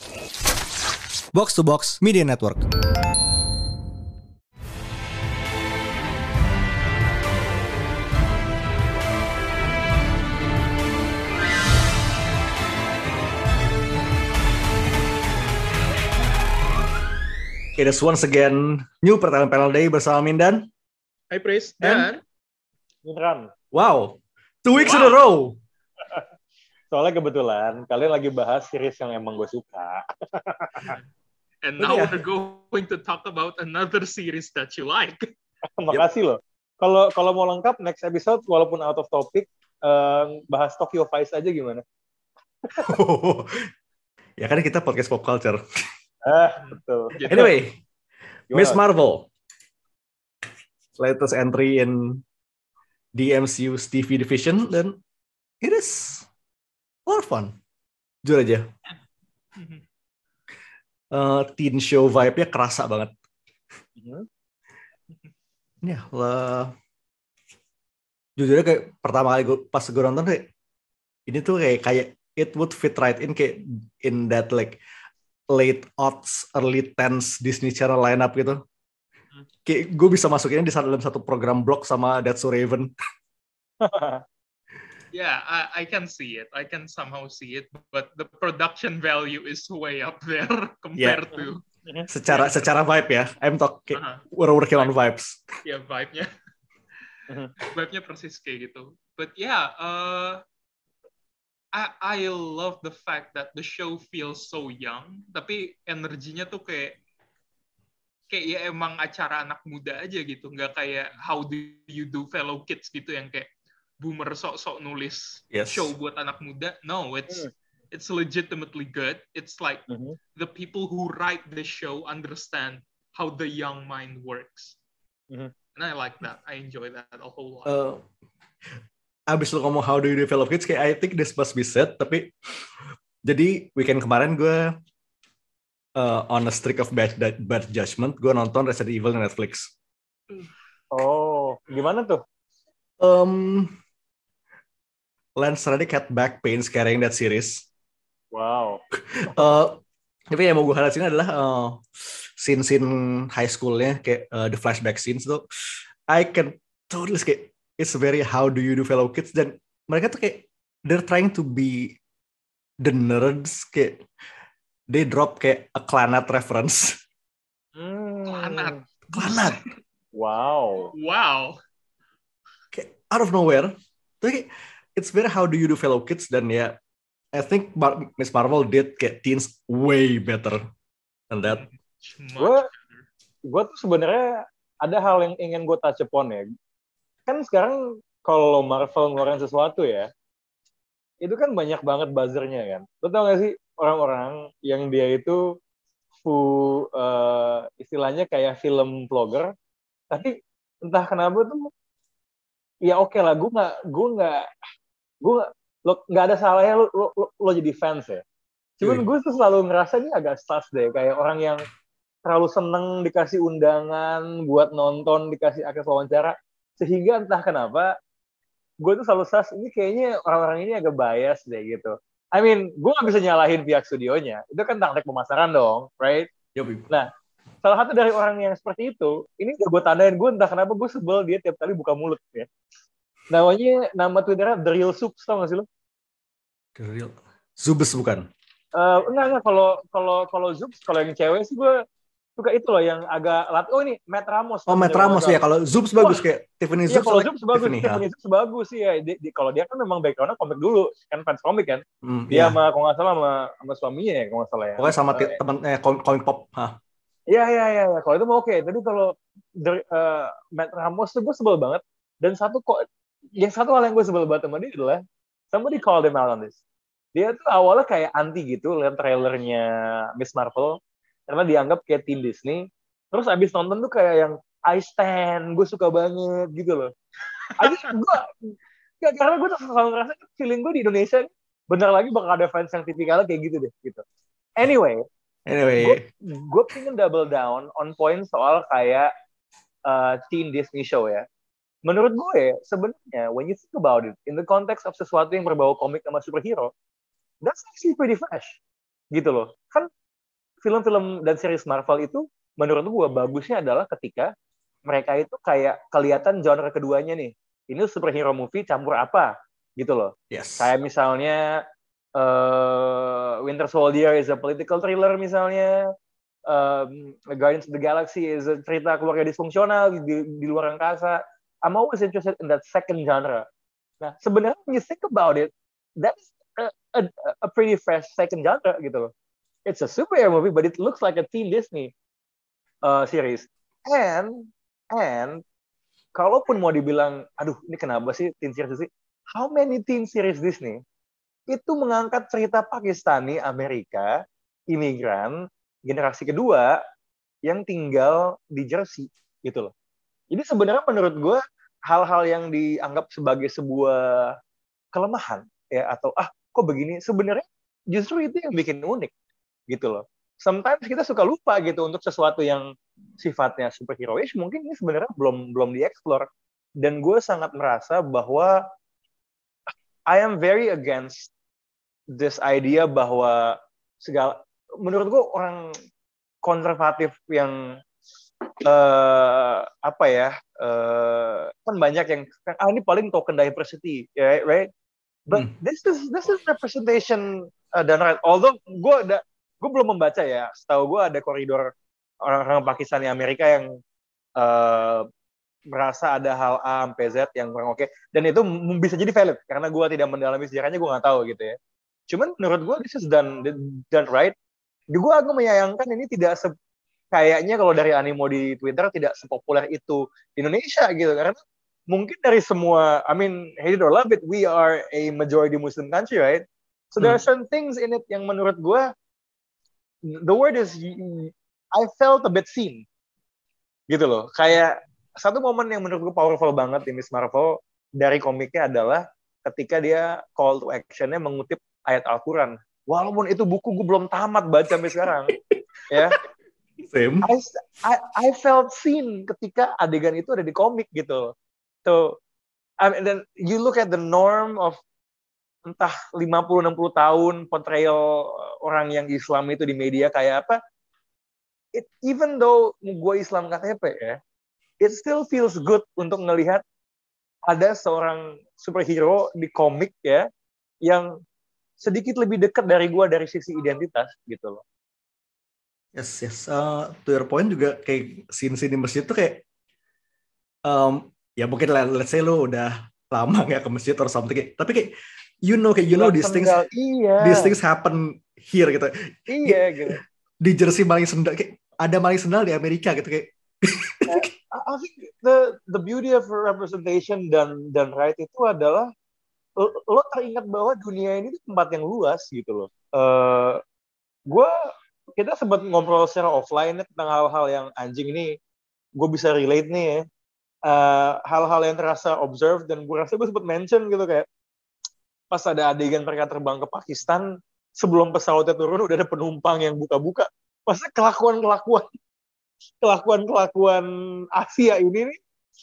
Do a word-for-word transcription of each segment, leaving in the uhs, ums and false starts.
Box to Box Media Network. It is once again new pertama panel day bersama Mindan. Hai Pris dan Beneran. Wow, two weeks Wow. in a row. Soalnya kebetulan kalian lagi bahas series yang emang gue suka. and now Iya. we're going to talk about another series that you like. Makasih loh. Kalau kalau mau lengkap next episode walaupun out of topic eh, bahas Tokyo Vice aja gimana? Ya kan kita podcast pop culture. Ah, betul. Gitu. Anyway, Gimana? Miss Marvel, latest entry in the M C U's T V division, dan it is a lot of fun. Jujur aja, uh, teen show vibe-nya kerasa banget. Mhm. Ya, lah. Jujur aja kayak pertama kali gue, pas gue nonton kayak ini tuh kayak kayak it would fit right in kayak in that like late aughts, early tens Disney Channel lineup gitu. Kayak gue bisa masukinnya di dalam satu program blog sama That's So Raven. Yeah, I, I can see it. I can somehow see it, but the production value is way up there compared to Secara secara vibe ya, I'm talking uh-huh. we're working on vibes. ya vibe-nya. Vibe-nya persis kayak gitu. But yeah, uh, I I love the fact that the show feels so young, tapi energinya tuh kayak kayak ya emang acara anak muda aja gitu, nggak kayak How Do You Do Fellow Kids gitu yang kayak boomer sok-sok nulis Yes. show buat anak muda. No, it's Hmm. it's legitimately good. It's like Mhm. the people who write the show understand how the young mind works. Mhm. And I like that. I enjoy that a whole lot. Uh, abis lu ngomong How Do You Develop Kids, kayak I think this must be said, tapi jadi weekend kemarin gue uh, on a streak of bad, bad judgment, gue nonton Resident Evil di Netflix. Oh, gimana tuh? Um, Lance Reddick had back pains carrying that series. Wow. Uh, tapi yang mau gue highlight sini adalah uh, scene-scene high school-nya, kayak uh, the flashback scenes tuh, I can totally kayak it's very How Do You Do Fellow Kids, dan mereka tuh kayak they're trying to be the nerds, kayak they drop kayak a Clannad reference. Hmm. Clannad. Clannad. Wow. Wow. Kayak out of nowhere. Tapi kayak, it's very How Do You Do Fellow Kids, dan ya I think Mar- Miss Marvel did kayak teens way better than that. Much Gue better. gue tuh sebenarnya ada hal yang ingin gue touch upon ya. Kan sekarang kalau Marvel ngeluarin sesuatu ya, itu kan banyak banget buzzernya kan. Lo tau gak sih orang-orang yang dia itu full uh, istilahnya kayak film vlogger, tapi entah kenapa tuh ya oke okay lah, gue nggak gue nggak gue lo nggak ada salahnya lo, lo, lo, lo jadi fans ya. Cuman Yui. gue tuh selalu ngerasa ini agak sus deh, kayak orang yang terlalu seneng dikasih undangan buat nonton, dikasih akses wawancara, sehingga entah kenapa gue tuh selalu sus, ini kayaknya orang-orang ini agak bias deh gitu. I mean, gue gak bisa nyalahin pihak studionya, itu kan taktik pemasaran dong, right? Yoi. Nah, salah satu dari orang yang seperti itu, ini udah gue tandain, gue entah kenapa gue sebel dia tiap kali buka mulut ya. Namanya, nama Twitternya The Real Soups, tau gak sih lo? The real Zubes bukan? Uh, enggak, enggak, kalau kalau kalau Zoops, kalau yang cewek sih gue suka itu loh yang agak lat. Oh ini Matt Ramos. Oh, Matt Ramos ya. Kalau Zubes bagus kayak Tiffany Iya, Zubes. kalau like Zoops bagus, Tiffany, Tiffany Zoops bagus sih ya. Di, di, kalau dia kan memang backgroundnya komik dulu, kan fans komik kan. Hmm, Dia ya. sama kalau nggak salah sama, sama suaminya ya, kalau nggak salah ya. Pokoknya sama Uh, ti- temen eh, komik, komik pop. Hah. Iya, iya, iya. Ya. Kalau itu mau oke. Tapi kalau dari, uh, Matt Ramos tuh gue sebel banget. Dan satu kok, yang satu hal yang gue sebel banget sama dia adalah somebody called him out on this. Dia tuh awalnya kayak anti gitu lihat trailernya Miss Marvel karena dianggap kayak teen Disney. Terus abis nonton tuh kayak yang I stand, gue suka banget gitu loh. Abis gue, ya, karena gue tuh selalu ngerasa feeling gue di Indonesia bener lagi bakal ada fans yang tipikalnya kayak gitu deh gitu. Anyway, Anyway, gue pengen double down on point soal kayak uh, teen Disney show ya. Menurut gue sebenarnya when you think about it in the context of sesuatu yang berbau komik sama superhero, that's actually pretty fresh gitu loh. Kan film-film dan series Marvel itu menurut gue bagusnya adalah ketika mereka itu kayak kelihatan genre keduanya nih. Ini superhero movie campur apa gitu loh. Yes. Kayak misalnya uh, Winter Soldier is a political thriller misalnya. Um, Guardians of the Galaxy is a cerita keluarga disfungsional di, di luar angkasa. I'm always interested in that second genre. Nah, sebenarnya when you think about it, that's a, a, a pretty fresh second genre gitu loh. It's a superhero movie, but it looks like a teen Disney uh, series. And and kalaupun mau dibilang, aduh ini kenapa sih teen series sih? How many teen series Disney itu mengangkat cerita Pakistani, Amerika, imigran, generasi kedua yang tinggal di Jersey gitu loh. Jadi sebenarnya menurut gue hal-hal yang dianggap sebagai sebuah kelemahan ya atau ah kok begini sebenarnya justru itu yang bikin unik gitu loh. Sometimes kita suka lupa gitu untuk sesuatu yang sifatnya superheroish mungkin ini sebenarnya belum belum dieksplor dan gue sangat merasa bahwa I am very against this idea bahwa segala menurut gue orang konservatif yang Uh, apa ya uh, kan banyak yang ah ini paling token diversity right, right? But hmm. this is this is representation uh, dan right. Although gue ada gue belum membaca ya, setahu gue ada koridor orang-orang Pakistan di Amerika yang uh, merasa ada hal A sampai Z yang kurang oke okay. Dan itu bisa jadi valid karena gue tidak mendalami sejarahnya, gue nggak tahu gitu ya. Cuman menurut gue this is done done right. Gue agak menyayangkan ini tidak se kayaknya kalau dari animo di Twitter tidak sepopuler itu di Indonesia gitu karena mungkin dari semua I mean hate it or love it we are a majority Muslim country right so there are certain things in it yang menurut gue the word is I felt a bit seen gitu loh kayak satu momen yang menurut gue powerful banget di Miss Marvel dari komiknya adalah ketika dia call to actionnya mengutip ayat Al-Quran walaupun itu buku gue belum tamat baca sampai sekarang ya Same. I, I I felt seen ketika adegan itu ada di komik gitu. So, I mean, then you look at the norm of entah lima puluh enam puluh tahun portrayal orang yang Islam itu di media kayak apa. It, even though gue Islam K T P ya, it still feels good untuk ngelihat ada seorang superhero di komik ya yang sedikit lebih dekat dari gue dari sisi identitas gitu loh. Yes, yes. Uh, to your point juga kayak scene-scene di masjid tuh kayak um, ya mungkin let's say lu udah lama nggak ke masjid or something kayak, tapi kayak you know kayak you know these things iya. these things happen here gitu. Iya gitu. Di Jersey maling sendal kayak ada maling sendal di Amerika gitu kayak. I think the the beauty of representation dan dan right itu adalah lo, lo teringat bahwa dunia ini tempat yang luas gitu loh. Uh, gue kita sempat ngobrol secara offline tentang hal-hal yang anjing ini gue bisa relate nih ya. Uh, hal-hal yang terasa observed dan gue rasa gue sempat mention gitu kayak pas ada adegan mereka terbang ke Pakistan sebelum pesawatnya turun udah ada penumpang yang buka-buka. Maksudnya kelakuan-kelakuan kelakuan-kelakuan Asia ini nih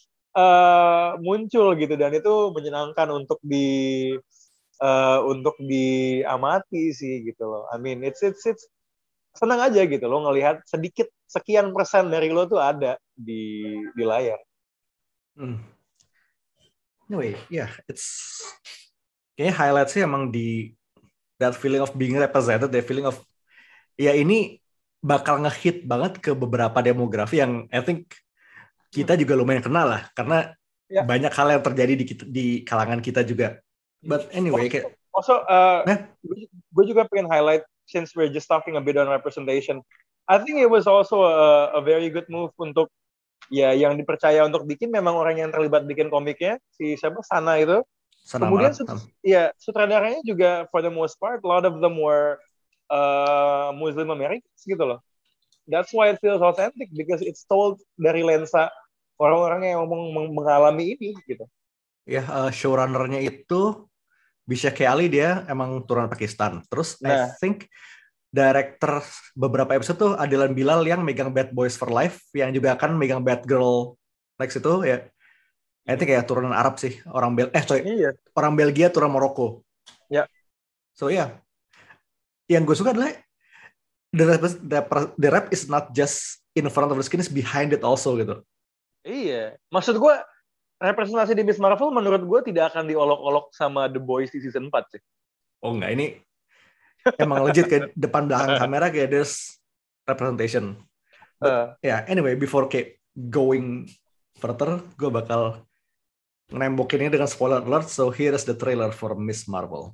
uh, muncul gitu dan itu menyenangkan untuk di uh, untuk diamati sih gitu loh. I mean it's it's it's senang aja gitu lo ngelihat sedikit sekian persen dari lo tuh ada di di layar. Hmm. Anyway, yeah, it's kayaknya highlightsnya emang di that feeling of being represented, that feeling of ya ini bakal ngehit banget ke beberapa demografi yang I think kita juga lumayan kenal lah karena yeah. banyak hal yang terjadi di di kalangan kita juga. But anyway, kayak also uh, eh? gue juga pengen highlight since we're just talking a bit on representation, I think it was also a, a very good move untuk ya yang dipercaya untuk bikin memang orang yang terlibat bikin komiknya si siapa Sana itu. Sana Kemudian sut, ya sutradaranya juga for the most part a lot of them were uh, Muslim Americans gitu loh. That's why it feels authentic because it's told dari lensa orang-orang yang meng- mengalami ini gitu. Ya uh, showrunner-nya itu Bisha Ali dia emang turunan Pakistan. Terus nah. I think director beberapa episode tuh Adilan Bilal yang megang Bad Boys for Life, yang juga akan megang Bad Girl next itu ya. I think kayak turunan Arab sih, orang Bel eh sorry, iya. orang Belgia turunan Maroko. Ya. So ya, yeah. Yang gue suka adalah the rap, the, the rap is not just in front of the screen, is behind it also gitu. Iya, maksud gue representasi di Miss Marvel menurut gue tidak akan diolok-olok sama The Boys di season empat sih. Oh enggak, ini emang legit kayak depan belakang kamera kayak there's representation. But uh. yeah, anyway, before kayak going further, gue bakal nembokinnya dengan spoiler alert. So here is the trailer for Miss Marvel.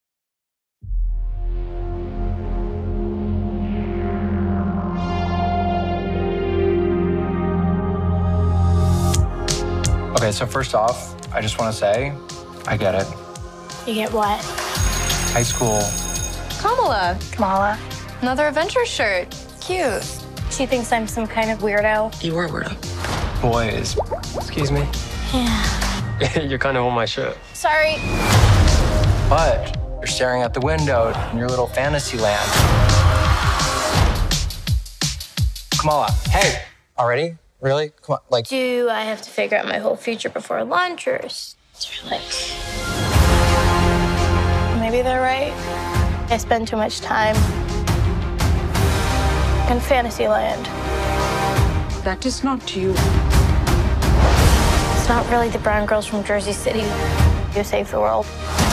Okay, so first off, I just want to say, I get it. You get what? High school. Kamala. Kamala. Another Avengers shirt. Cute. She thinks I'm some kind of weirdo. You are a weirdo. Boys. Excuse me? Yeah. You're kind of on my shirt. Sorry. But you're staring at the window in your little fantasy land. Kamala, hey! Already? Really? Come on, like... Do I have to figure out my whole future before lunch, or is there like... Maybe they're right. I spend too much time in Fantasyland. That is not you. It's not really the brown girls from Jersey City who save the world.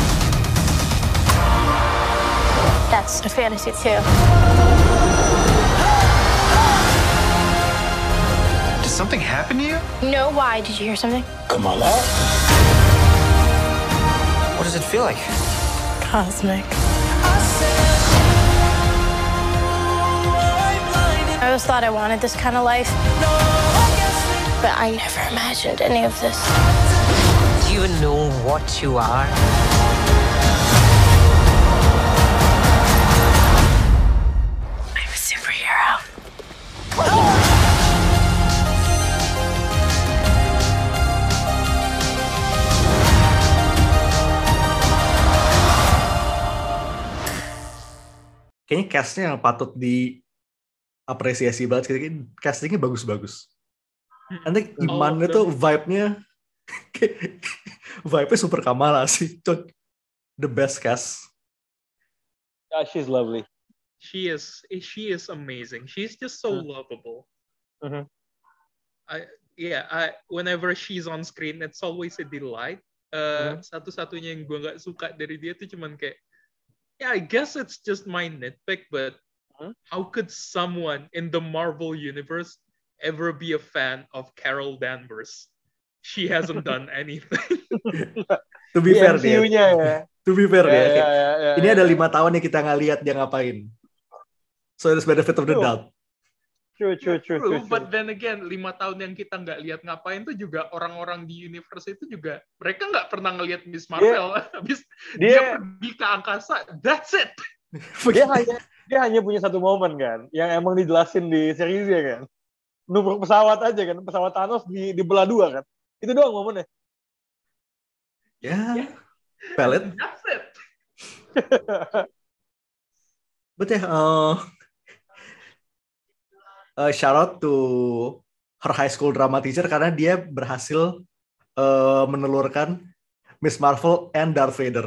That's a fantasy too. Did something happen to you? No, why? Did you hear something? Kamala? What does it feel like? Cosmic. I always thought I wanted this kind of life, but I never imagined any of this. Do you know what you are? I'm a superhero. Kayaknya cast-nya yang patut diapresiasi banget. Kayaknya castingnya bagus-bagus. Nanti Iman oh, itu vibe-nya vibe-nya super Kamala sih. The best cast. Yeah, she's lovely. She is she is amazing. She's just so mm. lovable. Mm-hmm. I yeah, I whenever she's on screen it's always a delight. Uh, mm-hmm. Satu-satunya yang gue nggak suka dari dia tuh cuman kayak yeah, I guess it's just my nitpick, but huh? How could someone in the Marvel universe ever be a fan of Carol Danvers? She hasn't done anything. To be fair, dia. Ya. To be fair, yeah, dia. Yeah, yeah, yeah, ini yeah. ada lima tahun yang kita nggak lihat dia ngapain. So there's benefit of the true. doubt. True, true, true, true, true. But then again, lima tahun yang kita nggak lihat ngapain tuh juga orang-orang di universe itu juga mereka nggak pernah ngelihat Miss Marvel. Yeah. Habis dia, dia pergi ke angkasa, that's it. Dia hanya dia hanya punya satu momen kan, yang emang dijelasin di seriesnya kan. Nubruk pesawat aja kan, pesawat Thanos di dibelah dua kan. Itu doang momennya. Ya, yeah. Valid. That's it. But yeah, uh, uh, shout out to her high school drama teacher karena dia berhasil uh, menelurkan Miss Marvel and Darth Vader.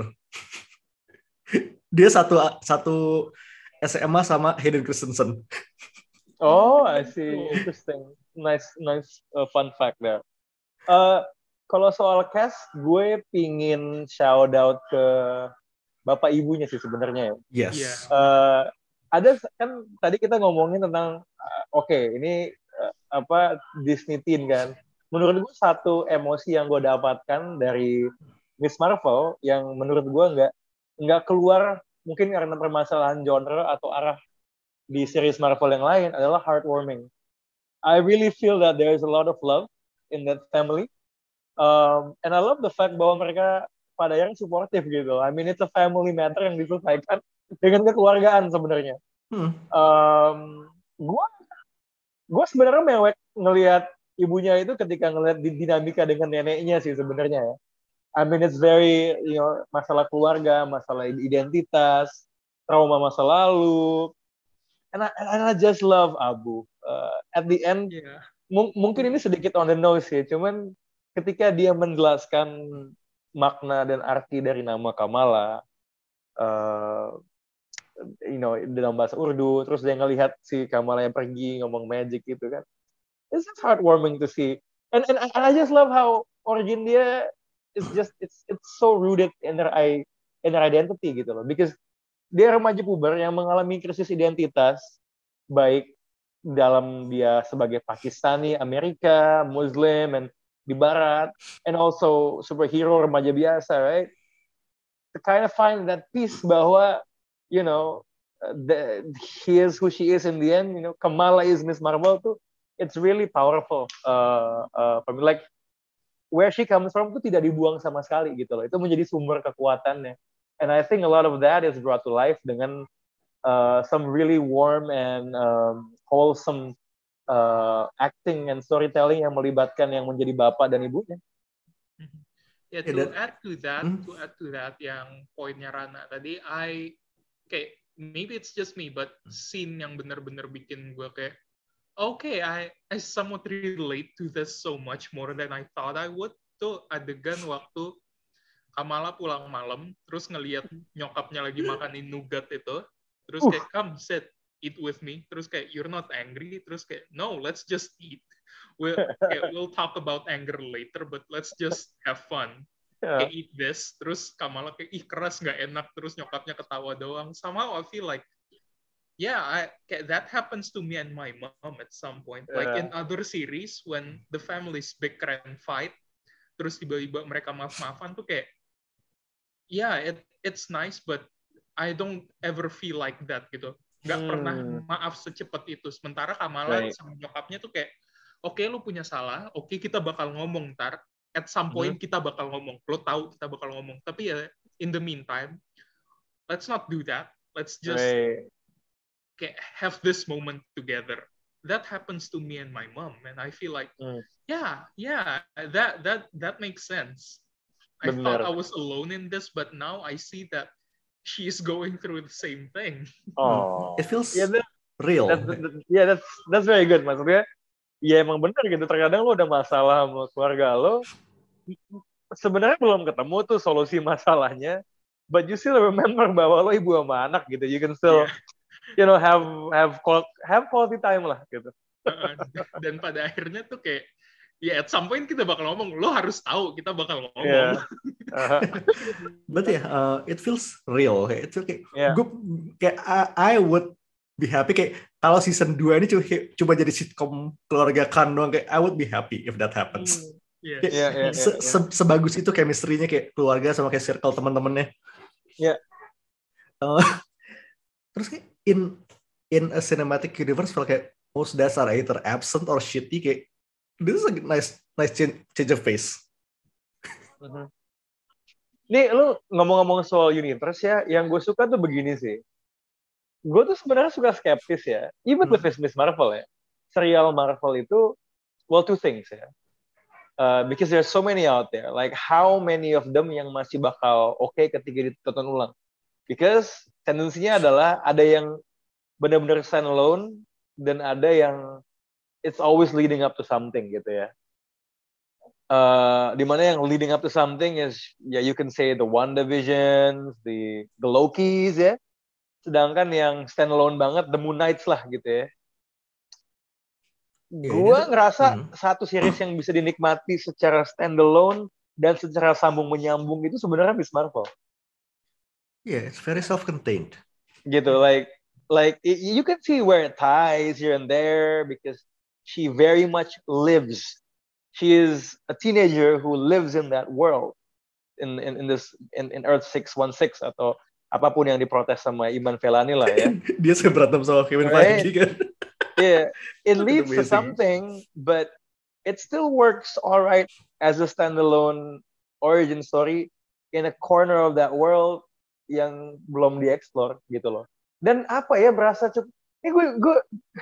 Dia satu satu S M A sama Hayden Christensen. Oh, I see. Interesting. Nice, nice uh, fun fact there. Uh, kalau soal cast, gue pingin shout out ke bapak ibunya sih sebenarnya ya. Yes. Yeah. Uh, ada kan tadi kita ngomongin tentang uh, oke okay, ini uh, apa Disney Teen kan. Menurut gue satu emosi yang gue dapatkan dari Miss Marvel yang menurut gue nggak nggak keluar mungkin karena permasalahan genre atau arah di series Marvel yang lain adalah heartwarming. I really feel that there is a lot of love in that family. Um, and I love the fact bahwa mereka pada yang supportive gitu. I mean, it's a family matter yang diselesaikan dengan kekeluargaan sebenarnya. Hmm. Um, gua, gua sebenarnya mewek ngelihat ibunya itu ketika ngelihat dinamika dengan neneknya sih sebenarnya ya. I mean, it's very, you know, masalah keluarga, masalah identitas, trauma masa lalu. And I, and I just love Abu. Uh, at the end, yeah. m- mungkin ini sedikit on the nose ya, cuman ketika dia menjelaskan makna dan arti dari nama Kamala, uh, you know, dalam bahasa Urdu, terus dia ngelihat si Kamala yang pergi ngomong magic gitu kan. It's just heartwarming to see. And and, and I just love how origin dia is just it's it's so rooted in their I in their identity gitu loh. Because dia remaja puber yang mengalami krisis identitas baik dalam dia sebagai Pakistani, Amerika, Muslim, and di Barat, and also superhero remaja biasa, right? To kind of find that peace bahwa, you know, the, he is who she is in the end, you know, Kamala is Miss Marvel tuh, it's really powerful. Uh, uh, for me, like, where she comes from tuh tidak dibuang sama sekali gitu loh. Itu menjadi sumber kekuatannya. And I think a lot of that is brought to life dengan uh, some really warm and um, wholesome uh, acting and storytelling yang melibatkan yang menjadi bapak dan ibunya. Ya, yeah, to yeah, add to that, hmm? to add to that yang poinnya Rana tadi, I kayak maybe it's just me, but scene yang benar-benar bikin gue kayak, okay, I I somewhat relate to this so much more than I thought I would. Tuh adegan waktu Kamala pulang malam, terus ngelihat nyokapnya lagi makanin nougat itu, terus kayak, come sit, eat with me, terus kayak, you're not angry, terus kayak, no, let's just eat. We'll, kayak, we'll talk about anger later, but let's just have fun. Yeah. Kayak eat this, terus Kamala kayak, ih keras, nggak enak, terus nyokapnya ketawa doang. Somehow I feel like, yeah, I, kayak, that happens to me and my mom at some point. Yeah. Like in other series, when the families bicker and fight, terus tiba-tiba mereka maaf-maafan tuh kayak, yeah, it, it's nice, but I don't ever feel like that gitu. Nggak hmm. pernah maaf secepat itu. Sementara Kamala right. sama nyokapnya tuh kayak, oke okay, lu punya salah, oke okay, kita bakal ngomong ntar, at some point hmm. kita bakal ngomong, lo tahu kita bakal ngomong. Tapi ya, in the meantime, let's not do that. Let's just right. kayak have this moment together. That happens to me and my mom, and I feel like, hmm. yeah, yeah, that that that makes sense. I Bener. thought I was alone in this, but now I see that she is going through the same thing. Oh, it feels yeah, that, real. That, that, that, yeah, that's that's very good. Maksudnya, ya emang benar gitu. Terkadang lo ada masalah sama keluarga lo, sebenarnya belum ketemu tuh solusi masalahnya, but you still remember bahwa lo ibu sama anak gitu. You can still, yeah. you know, have have have quality time lah gitu. Dan pada akhirnya tuh kayak, ya, yeah, at some point kita bakal ngomong, lo harus tahu kita bakal ngomong. Yeah. Uh-huh. But yeah, uh, it feels real. It's okay. Yeah. Gue kayak I, I would be happy kayak kalau season dua ini coba, coba jadi sitcom keluarga Khan doang, kayak I would be happy if that happens. Mm. Yes. Kayak, yeah, yeah, se, yeah, se, yeah. Sebagus itu chemistry-nya kayak keluarga sama kayak circle teman-temannya. Ya. Yeah. Uh, terus kayak in in a cinematic universe feel kayak most dasar either absent or shitty kayak this is a nice nice change, change of pace. Uh-huh. Nih, lu ngomong-ngomong soal universe ya, yang gue suka tuh begini sih. Gue tuh sebenarnya suka skeptis ya, even hmm. with Miss Marvel ya. Serial Marvel itu, well, two things ya. Uh, because there's so many out there. Like, how many of them yang masih bakal oke okay ketika ditonton ulang? Because tendensinya adalah ada yang benar-benar standalone, dan ada yang it's always leading up to something gitu ya. Uh, dimana yang leading up to something is ya yeah, you can say the WandaVision, the the Lokis ya. Sedangkan yang standalone banget the Moon Knights lah gitu ya. Yeah, Gua yeah. ngerasa hmm. satu series yang bisa dinikmati secara standalone dan secara sambung menyambung itu sebenarnya Miss Marvel. Yeah, it's very self-contained. Gitu, like like you can see where it ties here and there because she very much lives. She is a teenager who lives in that world, in in, in this in, in Earth six one six atau apapun yang diprotes sama Iman Vellani lah ya. Dia suka berantem sama Kevin right? Feige kan. Yeah, it leads to something, but it still works all right as a standalone origin story in a corner of that world yang belum dieksplor gitu loh. Dan apa ya berasa cukup. Ini gue gue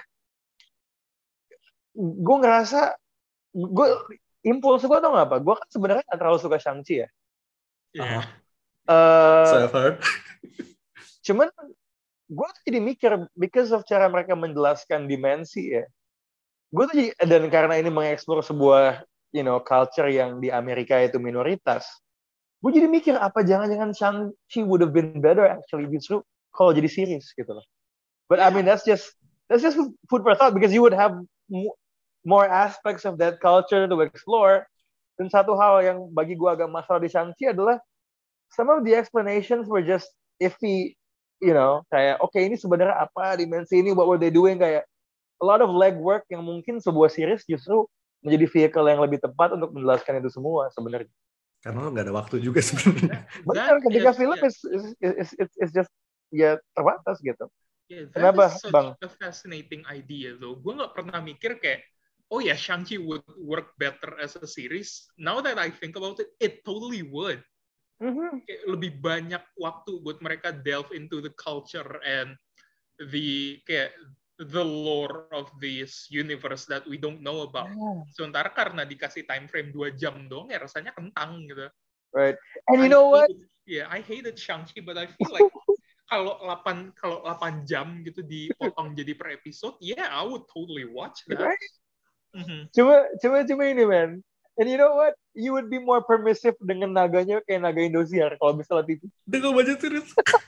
gue ngerasa gue impuls gue tau gak apa, gue kan sebenarnya gak terlalu suka Shang-Chi ya. Yeah. Uh, so I've heard. Cuman gue tuh jadi mikir because of cara mereka menjelaskan dimensi ya. Gue tuh jadi, dan karena ini mengeksplor sebuah you know culture yang di Amerika itu minoritas, gue jadi mikir apa jangan-jangan Shang-Chi would have been better actually justru kalau jadi series gitu loh. But I mean that's just that's just food for thought because you would have m- more aspects of that culture to explore. Dan satu hal yang bagi gue agak masalah di Shang-Chi adalah some of the explanations were just iffy, you know, kayak oke okay, ini sebenarnya apa dimensi ini, what were they doing, kayak a lot of legwork yang mungkin sebuah series justru menjadi vehicle yang lebih tepat untuk menjelaskan itu semua sebenarnya. Karena lo nggak ada waktu juga sebenarnya. Benar, ketika is, film yeah. is, is, is, is, is just ya terbatas gitu. Yeah, that Kenapa, is such Bang? a fascinating idea though. Gue nggak pernah mikir kayak, oh ya, yeah, Shang-Chi would work better as a series. Now that I think about it, it totally would. Mm-hmm. Kayak lebih banyak waktu buat mereka delve into the culture and the kayak the lore of this universe that we don't know about. Yeah. Sementara karena dikasih time frame dua jam dong, ya rasanya kentang gitu. Right. And you I know what? Hated, yeah, I hated Shang-Chi, but I feel like kalau delapan kalau delapan jam gitu dipotong jadi per episode, yeah, I would totally watch that. Right? Mm-hmm. Cuma, cuma, cuma ini, man. And you know what? You would be more permissive dengan naganya kayak naga Indosiar kalau misalnya T V. Dengan budget series.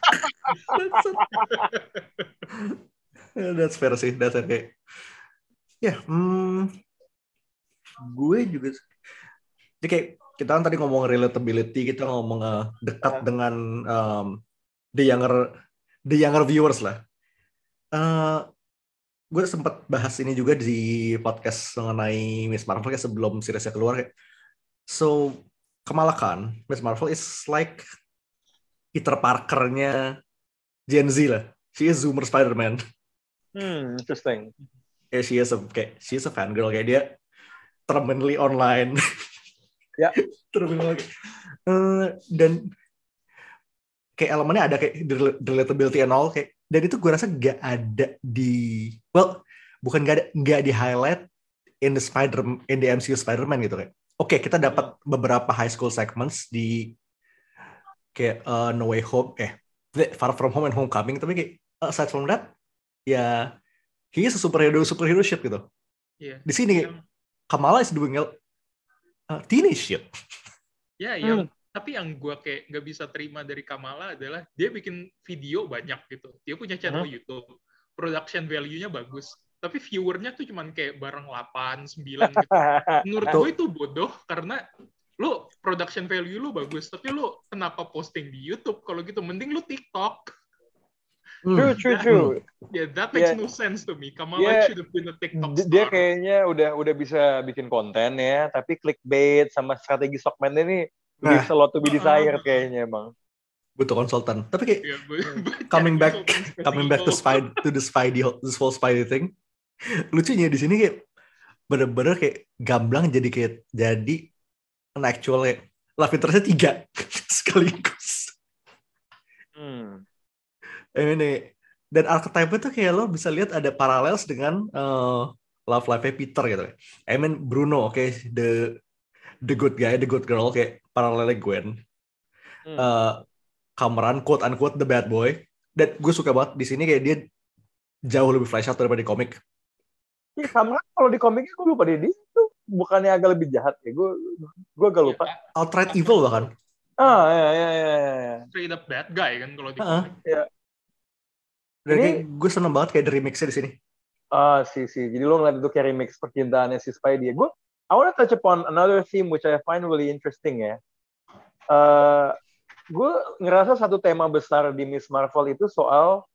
That's fair sih, that's fair kayak. Ya, yeah, hmm, gue juga. Jadi kayak kita kan tadi ngomong relatability, kita ngomong uh, dekat uh. dengan um, the younger the younger viewers lah. Uh, gue sempat bahas ini juga di podcast mengenai Miss Marvel kayak sebelum seriesnya keluar kayak. So Kamala Khan, Miss Marvel is like Peter Parker-nya Gen Z lah. She is Zoomer Spider-Man. Hmm, interesting. Yeah, she is a kayak she is a fangirl kayak dia terminally online. Ya. Yeah. Terminally. Uh, dan kayak elemennya ada kayak relatability and all kayak, dan itu gue rasa gak ada di well bukan gak ada gak di highlight in the Spider in the M C U Spider-Man gitu kayak. Oke, okay, kita dapat beberapa high school segments di kayak uh, No Way Home eh Far From Home and Homecoming, tapi kayak aside from that ya he is a superhero superhero shit gitu. Yeah. Di sini yang, Kamala is doing uh, teenage shit. Ya, yeah, hmm. yang tapi yang gue kayak nggak bisa terima dari Kamala adalah dia bikin video banyak gitu. Dia punya channel hmm. YouTube, production value-nya bagus. Tapi viewernya tuh cuman kayak bareng delapan, sembilan gitu. Menurut gue itu bodoh karena lu production value lu bagus, tapi lu kenapa posting di YouTube? Kalau gitu mending lu TikTok. True, true, true. Yeah, that makes yeah. no sense to me. Kamala yeah. should have been a TikTok star. Dia kayaknya udah udah bisa bikin konten ya, tapi clickbait sama strategi segmen ini nah. Leaves a lot to be desired uh, kayaknya emang. Butuh konsultan. Tapi kayak yeah, but, but coming back coming back to spy to the Spidey this whole Spidey thing. Lucunya di sini kayak bener-bener kayak gamblang jadi kayak jadi an actual kayak love interest-nya tiga sekaligus. Hmm. Ini dan archetype itu kayak lo bisa lihat ada parallels dengan uh, love life-nya Peter gitu. I mean Bruno, oke, okay, the the good guy, the good girl kayak paralelnya Gwen. Hmm. Uh, Cameron quote unquote the bad boy. Dan gue suka banget di sini kayak dia jauh lebih flash out daripada di komik. Ya Cameron kalau di komiknya gue lupa dia, dia itu bukannya agak lebih jahat ya. Gue gue agak lupa. Outright evil bahkan. Ah ya ya ya ya. Straight up bad guy kan kalau di uh-huh. komik. Ya. Dan ini gue seneng banget kayak the remix-nya di sini. Ah, sih sih. Jadi lo ngeliat itu kayak remix percintaannya si Spidey. Gue, I want to touch upon another theme which I find really interesting ya. Uh, gue ngerasa satu tema besar di Miss Marvel itu soal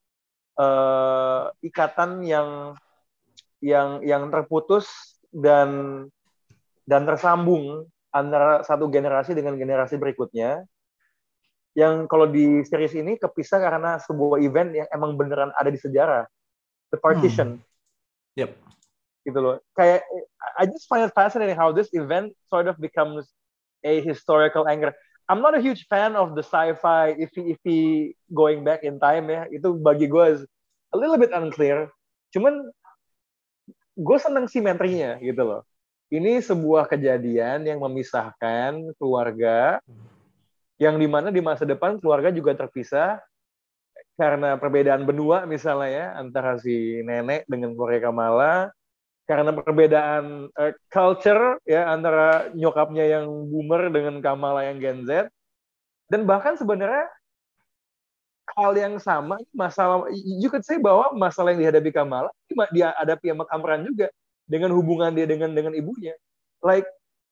uh, ikatan yang yang yang terputus dan dan tersambung antara satu generasi dengan generasi berikutnya. Yang kalau di series ini kepisah karena sebuah event yang emang beneran ada di sejarah, the partition. Hmm. Yep. Gitu loh. Kayak I just find it fascinating how this event sort of becomes a historical anchor. I'm not a huge fan of the sci-fi iffy-iffy going back in time ya. Itu bagi gue a little bit unclear. Cuman gue seneng simetrinya gitu loh. Ini sebuah kejadian yang memisahkan keluarga. Yang dimana di masa depan keluarga juga terpisah karena perbedaan benua misalnya ya antara si nenek dengan keluarga Kamala, karena perbedaan uh, culture ya antara nyokapnya yang boomer dengan Kamala yang Gen Z, dan bahkan sebenarnya hal yang sama, masalah, you could say bahwa masalah yang dihadapi Kamala, dia hadapi sama Kamran juga, dengan hubungan dia dengan dengan ibunya. Like,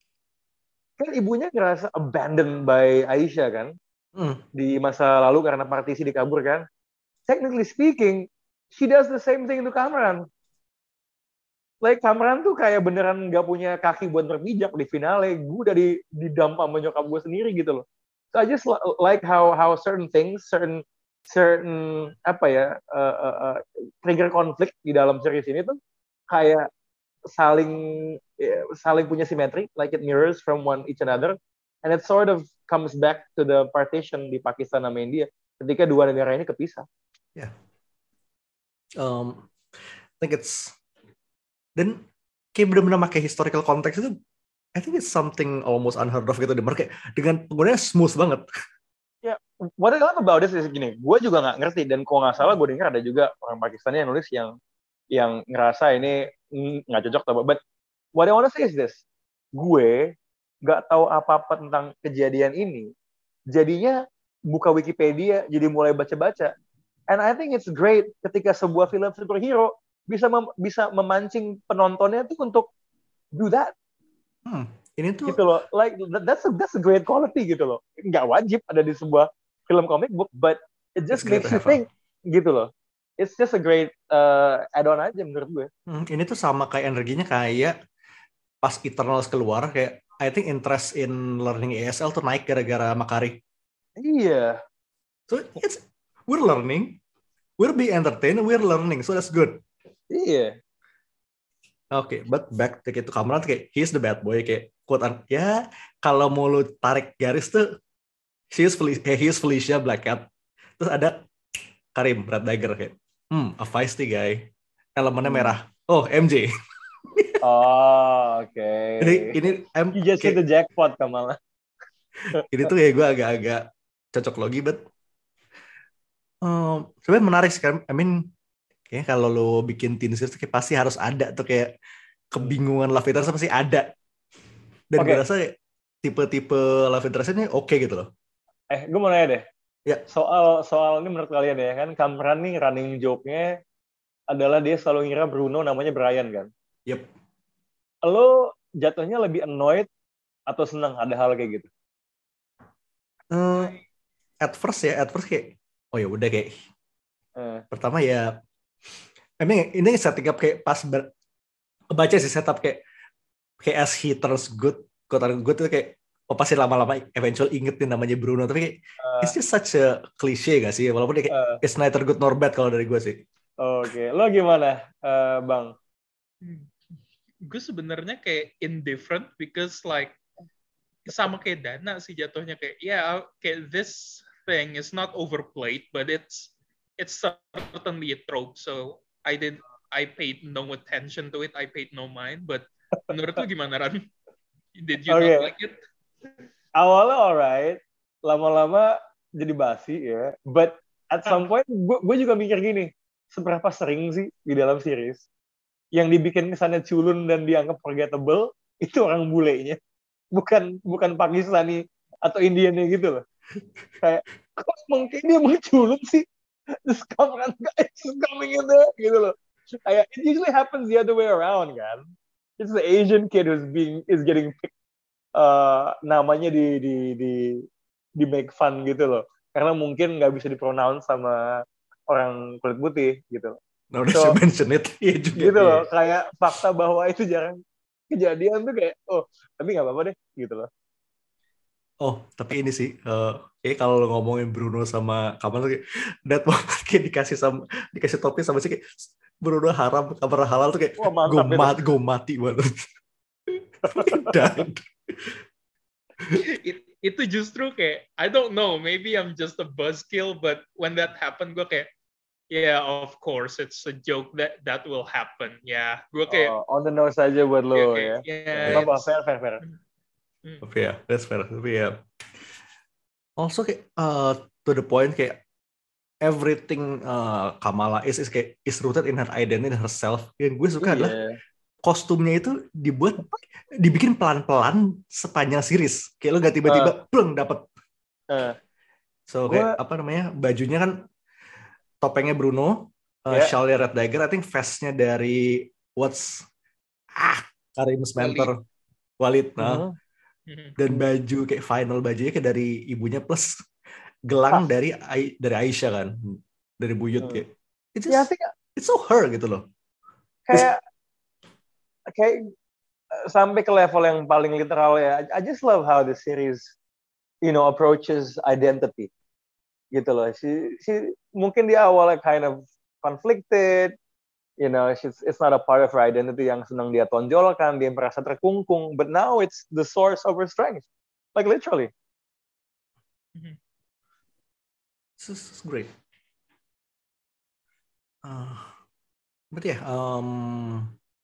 kan ibunya ngerasa abandoned by Aisyah kan, hmm. di masa lalu karena partisi dikabur kan. Technically speaking, she does the same thing to Kamran. Like, Kamran tuh kayak beneran gak punya kaki buat berpijak di finale. Gue udah di, didampak sama nyokap gue sendiri gitu loh. So I just like how how certain things, certain certain apa ya uh, uh, uh, trigger konflik di dalam series ini tuh kayak saling uh, saling punya simetri, like it mirrors from one each another, and it sort of comes back to the partition di Pakistan sama India ketika dua negara ini kepisah. Yeah. Um, I think it's dan kayak benar-benar pakai historical context itu, I think it's something almost unheard of gitu. Kayak dengan penggunaannya smooth banget. Ya, yeah, what I love about this is gini, gue juga nggak ngerti, dan kalau nggak salah gue dengar ada juga orang Pakistan yang nulis yang yang ngerasa ini nggak cocok, but what I want to say is this, gue nggak tahu apa-apa tentang kejadian ini, jadinya buka Wikipedia, jadi mulai baca-baca, and I think it's great ketika sebuah film superhero bisa mem- bisa memancing penontonnya tuh untuk do that. Hmm, ini tuh gitu loh, like that's a, that's a great quality gitu loh. Nggak wajib ada di sebuah film comic book, but it just makes you think gitu loh. It's just a great uh, add-on aja menurut gue. Hmm, ini tuh sama kayak energinya kayak pas Eternals keluar, kayak I think interest in learning A S L tuh naik gara-gara Makari. Iya. So it's we're learning, we're being entertained, we're learning, so that's good. Iya. Oke, okay, but back to itu Kamran kayak he's the bad boy, kayak quote an ya kalau mau lu tarik garis tuh he is Felicia, he is Felicia Black Cat. Terus ada Karim Red Dagger kayak hmm a feisty guy, elemennya hmm. merah. Oh, M J. Oh, oke. Okay. Jadi ini M you just hit the jackpot Kamala. Ini tuh kayak gue agak-agak cocok logi, but um, sebenarnya menarik sih kan. I mean kayaknya kalau lo bikin teen series kayak pasti harus ada tuh kayak kebingungan love interest pasti ada. Dan okay. gue rasa tipe-tipe love interest-nya oke okay gitu loh. Eh, gue mau nanya deh. Ya. Soal soal ini menurut kalian ya kan, Kamran nih running joke-nya adalah dia selalu ngira Bruno namanya Brian kan? Yep. Lo jatuhnya lebih annoyed atau senang ada hal kayak gitu? Uh, at first ya, at first kayak oh ya udah kayak. Uh. Pertama ya emang ini setting up kayak pas ber, baca sih setup kayak kayak as he turns good, kota good itu kayak oh pasti lama-lama eventual ingetin namanya Bruno, tapi kayak uh, it's just such a cliche gak sih, walaupun dia kayak uh, it's neither good nor bad kalau dari gue sih. Oke, okay. Lo gimana uh, Bang? Gue sebenarnya kayak indifferent because like sama kayak Dana sih jatuhnya kayak ya yeah, kayak this thing is not overplayed but it's it's certainly a trope, so I did I paid no attention to it, I paid no mind. But menurut lu gimana, Ran? Did you okay. not like it? Awalnya alright, lama-lama jadi basi ya. But at some point, gue juga mikir gini, seberapa sering sih di dalam series yang dibikin kesannya culun dan dianggap forgettable itu orang bulenya, bukan bukan Pakistani atau Indiannya gitu loh. Kayak kok mungkin dia menculun sih? This Kamran guy is coming in there gitu loh. Kayak it usually happens the other way around kan. It's the Asian kid who's being is getting picked, uh, namanya di di di di make fun gitu loh. Karena mungkin nggak bisa dipronounce sama orang kulit putih gitu. Now that so, you mention it, ya juga. Gitu loh. Kayak fakta bahwa itu jarang kejadian tuh kayak oh tapi nggak apa-apa deh gitu loh. Oh, tapi ini sih, uh, kayak kalau ngomongin Bruno sama Kamal tuh kayak, that moment kayak dikasih sama dikasih topi sama sih kayak Bruno haram, kabar halal tuh kayak gue mati, gue mati banget. It, itu justru kayak I don't know, maybe I'm just a buzzkill, but when that happened gue kayak yeah, of course it's a joke that that will happen. Ya, yeah. Gue kayak oh, on the nose aja buat lo okay, ya. Yeah, apa fair fair fair. Tapi ya, that's fair. Tapi ya, also kayak uh, to the point kayak everything uh, Kamala is is kayak is rooted in her identity and herself. Yang gue suka yeah. adalah kostumnya itu dibuat dibikin pelan-pelan sepanjang series. Kayak lo gak tiba-tiba uh. pleng dapet. Uh. So kayak apa namanya, bajunya kan topengnya Bruno, uh, Yeah. shawlnya Red Dagger, I think vestnya dari what's ah Karim Mentor Walid, nah. Mhm. Dan baju kayak final bajunya kayak dari ibunya plus gelang Tas. dari Ai- dari Aisyah kan, dari buyut Hmm. kayak it's Ya, I just, think it's so her gitu loh. kayak kayak uh, sampai ke level yang paling literal ya. I I just love how the series, you know, approaches identity. Gitu loh. She, she mungkin di awalnya kind of conflicted, you know, she's, it's not a part of her identity yang senang dia tonjolkan, dia merasa terkungkung, but now it's the source of her strength. Like literally. This is great. Uh, but yeah, um,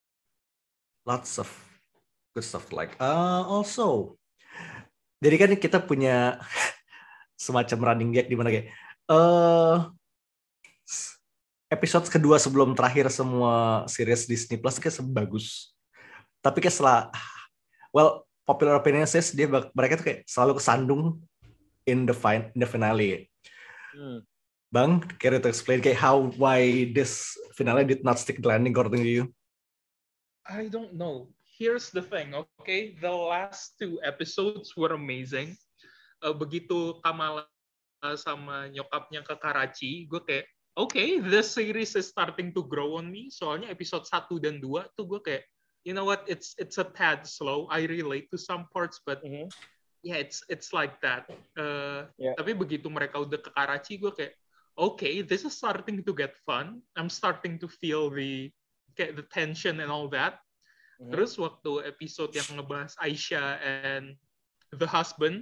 lots of good stuff like uh, also. Jadi kan kita punya semacam running gag di mana kayak uh, episode kedua sebelum terakhir semua series Disney Plus kayak sebagus. Tapi kayak setelah, well, popular opinion says dia mereka tuh kayak selalu kesandung in the fin- in the finale. Hmm. Bang, can you explain kayak how why this finale did not stick the landing according to you? I don't know. Here's the thing, okay? The last two episodes were amazing. Uh, begitu Kamala sama nyokapnya ke Karachi, gue kayak, okay, this series is starting to grow on me. Soalnya episode satu dan dua tuh gue kayak, you know what, it's it's a tad slow. I relate to some parts, but Mhm. yeah, it's it's like that. Uh, Yeah. Tapi begitu mereka udah ke Karachi, gue kayak, okay, this is starting to get fun. I'm starting to feel the kayak the tension and all that. Mhm. Terus waktu episode yang ngebahas Aisyah and the husband,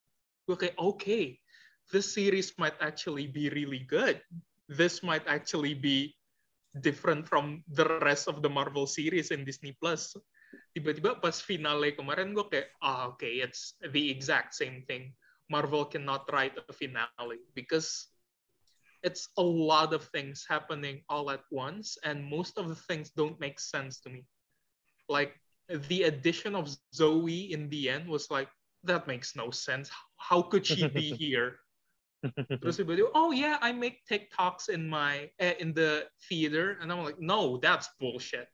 gue kayak, okay, this series might actually be really good. This might actually be different from the rest of the Marvel series in Disney Plus. Tiba-tiba pas finale kemarin gue kayak, ah, okay, it's the exact same thing. Marvel cannot write a finale because it's a lot of things happening all at once, and most of the things don't make sense to me. Like, the addition of Zoe in the end was like, that makes no sense. How could she be here? Terus tiba-tiba, oh yeah, I make TikToks in my eh, in the theater, and I'm like, no, that's bullshit.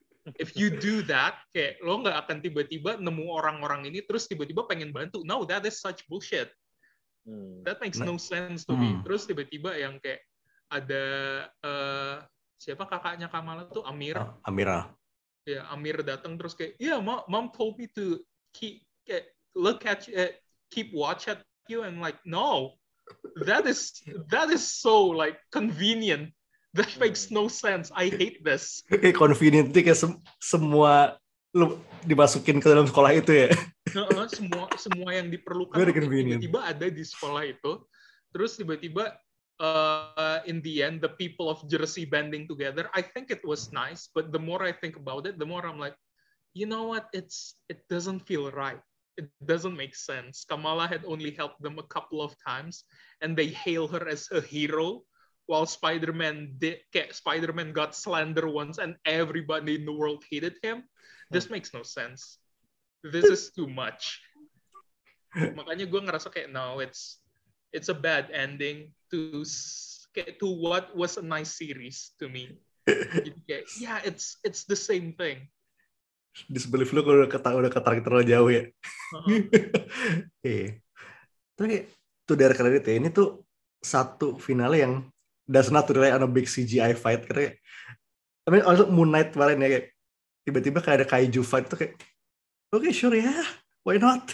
If you do that, kayak lo nggak akan tiba-tiba nemu orang-orang ini terus tiba-tiba pengen bantu. No, that is such bullshit. Hmm. That makes Nah. no sense to me. Hmm. Terus tiba-tiba yang kayak ada uh, siapa kakaknya Kamala tuh, Amir. Uh, Amira. Ya, Amir datang terus kayak, yeah, mom, mom told me to keep kayak, look at you, uh, keep watch at you, and like, no, that is that is so like convenient. That makes no sense. I hate this. Kayak convenient kayak sem- semua lu dimasukin ke dalam sekolah itu ya. Uh-uh, semua semua yang diperlukan Very tuh kayak convenient. tiba-tiba ada di sekolah itu. Terus tiba-tiba uh, in the end the people of Jersey banding together. I think it was nice, but the more I think about it, the more I'm like, you know what? It's it doesn't feel right. It doesn't make sense. Kamala had only helped them a couple of times, and they hail her as a hero, while Spider-Man did. Kayak Spider-Man got slander once, and everybody in the world hated him. This makes no sense. This is too much. Makanya gue ngerasa kayak, no, it's it's a bad ending to kayak, to what was a nice series to me. Jadi kayak, yeah, it's it's the same thing. Disbelief lu kalau udah ketarik udah ketarik terlalu jauh ya. Uh-huh. Iya. Tapi kayak to their credit ya, ini tuh satu finale yang does not rely on a big C G I fight. Karena kayak, I mean, also Moon Knight kemarin ya, kayak tiba-tiba kayak ada kaiju fight tuh kayak, okay, sure ya, yeah, why not?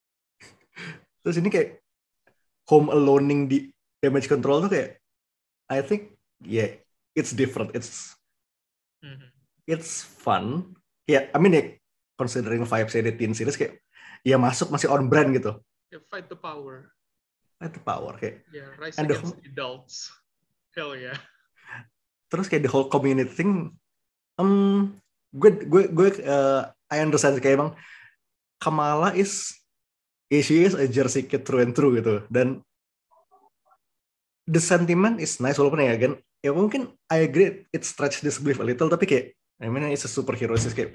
Terus ini kayak home aloneing di damage control tuh kayak, I think, yeah, it's different. It's Mhm. it's fun. Ya, yeah, I mean, ya, considering vibes di teen series kayak, ya masuk masih on brand gitu. Yeah, fight the power. Fight the power kayak. Yeah, rise And the against whole- adults. Hell yeah. Terus kayak the whole community thing, um, gue gue gue uh, I understand kayak emang Kamala is, yeah, she is a Jersey kid through and through gitu, dan the sentiment is nice walaupun ya kan, ya mungkin I agree it stretch this belief a little, tapi kayak, I mean it's a superhero, it's kayak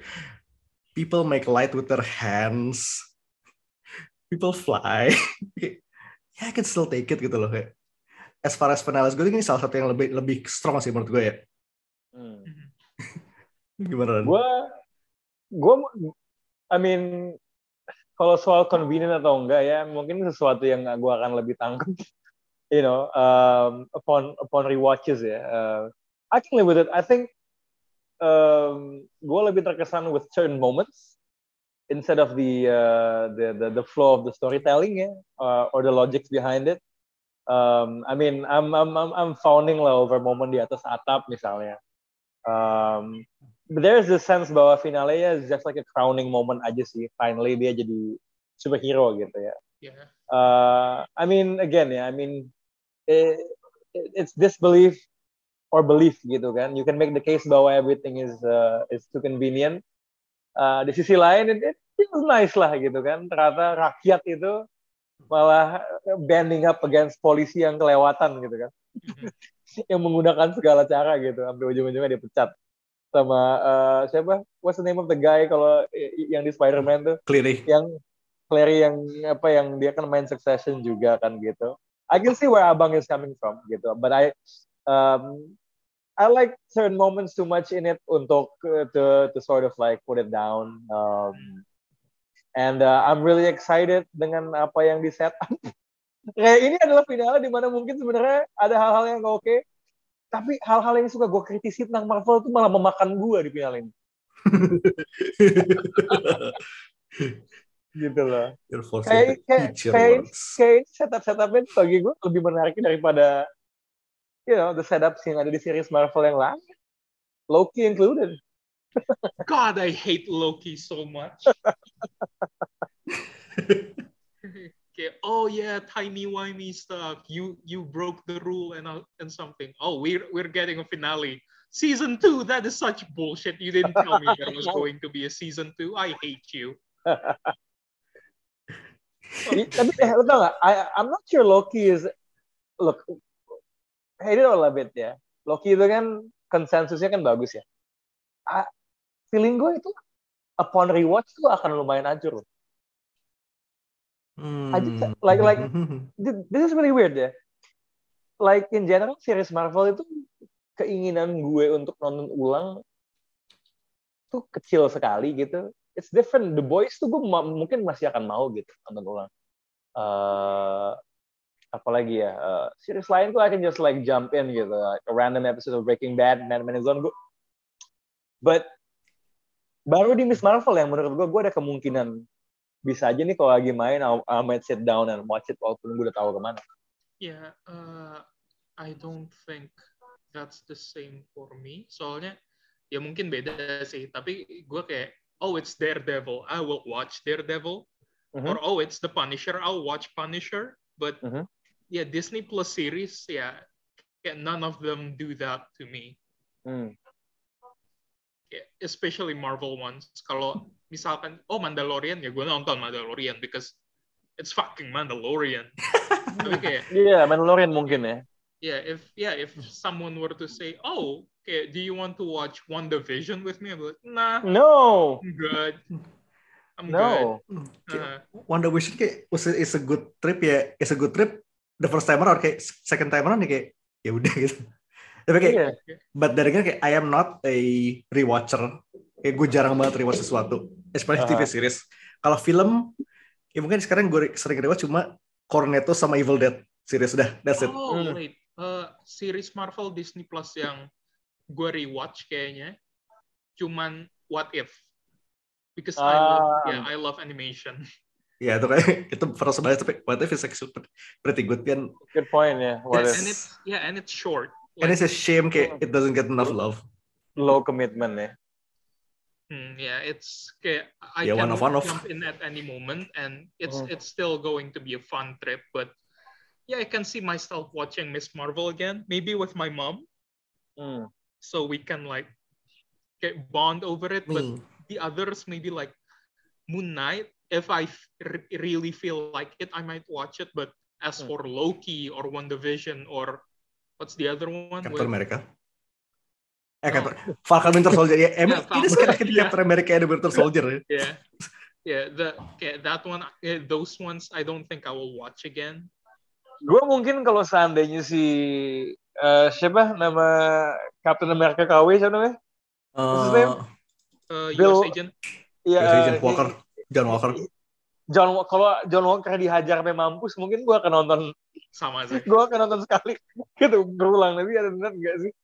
people make light with their hands, people fly, ya I can still take it gitu loh kayak. As far as finales gue ini salah satu yang lebih lebih strong sih menurut gue ya. Hmm. Gimana? Gue, gue, I mean, kalau soal convenient atau enggak ya, mungkin sesuatu yang gue akan lebih tangkap, you know, um, upon upon rewatches ya. Uh, I can live with it. I think um, gue lebih terkesan with certain moments instead of the uh, the, the the flow of the storytelling ya, uh, or the logics behind it. Um, I mean, I'm I'm I'm I'm fawning lah over momen di atas atap misalnya. Um, but there's this sense bahwa finale ya is just like a crowning moment aja sih. Finally dia jadi superhero gitu ya. Yeah. Uh, I mean again ya, I mean it, it's disbelief or belief gitu kan. You can make the case bahwa everything is uh, is too convenient. Uh, di sisi lain it, it feels nice lah gitu kan. Ternyata rakyat itu malah banding up against polisi yang kelewatan gitu kan. Mm-hmm. Yang menggunakan segala cara gitu. Sampai ujung-ujungnya dipecat sama uh, siapa? What's the name of the guy kalau yang di Spider-Man tuh? Cleary. Yang Cleary yang apa yang dia kan main Succession juga kan gitu. I can see where Abang is coming from gitu. But I um, I like certain moments too much in it untuk uh, to to sort of like put it down. Um, And uh, I'm really excited dengan apa yang di set up. Kayak ini adalah finale di mana mungkin sebenarnya ada hal-hal yang gak oke, tapi hal-hal yang suka gue kritisi tentang Marvel itu malah memakan gue di finale ini. Gitu loh. Kayak kayak kayak kayak setup-setupnya bagi gue lebih menarik daripada you know the setups yang ada di series Marvel yang lain. Loki included. God, I hate Loki so much. Okay. Oh yeah, timey-wimey stuff. You you broke the rule and uh, and something. Oh, we're we're getting a finale. Season two. That is such bullshit. You didn't tell me there was going to be a season two. I hate you. Tapi lo tau gak? I I'm not sure Loki is look. Hate it or love it ya. Loki itu kan konsensusnya kan bagus ya. I, feeling gue itu upon rewatch tuh akan lumayan hancur loh. Hmm. I just, like like this is really weird ya. Like in general series Marvel itu keinginan gue untuk nonton ulang tuh kecil sekali gitu. It's different. The Boys tuh gue ma- mungkin masih akan mau gitu nonton ulang. Uh, apalagi ya uh, series lain tuh I can just like jump in gitu. Like a random episode of Breaking Bad, Mad Men is on gue. But baru di Miss Marvel yang menurut gue, gue ada kemungkinan bisa aja nih kalau lagi main, I might sit down and watch it walaupun gue udah tahu kemana. Yeah, uh, I don't think that's the same for me. Soalnya ya mungkin beda sih. Tapi gue kayak, oh it's Daredevil, I will watch Daredevil. Mm-hmm. Or oh it's The Punisher, I'll watch Punisher. But mm-hmm. yeah, Disney Plus series, ya yeah, none of them do that to me. Mm. Especially Marvel ones. Kalau misalkan, oh Mandalorian, ya gue nonton Mandalorian because it's fucking Mandalorian. Tapi kayak, yeah, Mandalorian mungkin ya. Yeah, if yeah, if someone were to say, oh, okay, do you want to watch WandaVision with me? I'm like, nah. No. I'm good. I'm no. good. Uh, WandaVision kayak is a good trip ya. It's a good trip. The first time around kayak second time around kayak ya udah gitu. Tapi kayak, yeah. But dari kan kayak I am not a rewatcher. Kayak gue jarang banget rewatch sesuatu, especially uh-huh. T V series. Kalau film, ya mungkin sekarang gue sering rewatch cuma Cornetto sama Evil Dead series udah. That's it. Oh hmm. wait, uh, series Marvel Disney Plus yang gue rewatch kayaknya cuman What If, because uh. I love, yeah, I love animation. Ya itu kayak itu pernah sebanyak tapi What If is actually pretty good kan. Good point ya. Yeah. And it's yeah, and it's short. Like, and it's a shame kayak it doesn't get enough love. Low commitment ya. Hmm, yeah, it's kayak I yeah, can one of, one jump of. in at any moment, and it's oh. it's still going to be a fun trip. But yeah, I can see myself watching Miss Marvel again, maybe with my mom, mm. so we can like get bond over it. Me. But the others maybe like Moon Knight. If I r- really feel like it, I might watch it. But as mm. for Loki or WandaVision or what's the other one? Captain with... America. Eh, no. Captain Falcon Winter Soldier ya. Emang yeah, ini sekarang ketika yeah. Captain America ada Winter Soldier ya. Yeah, yeah. The okay, that one, yeah, those ones, I don't think I will watch again. gue mungkin kalau seandainya si uh, siapa nama Captain America K W siapa namanya? What's his name? Uh, Bill, U S Agent. Iya, U S Agent uh, Walker, John Walker. John kalau John Walker dihajar sampai mampus, mungkin gue akan nonton. Sama sih. Gue akan nonton sekali, gitu berulang. Tapi ada benar nggak sih?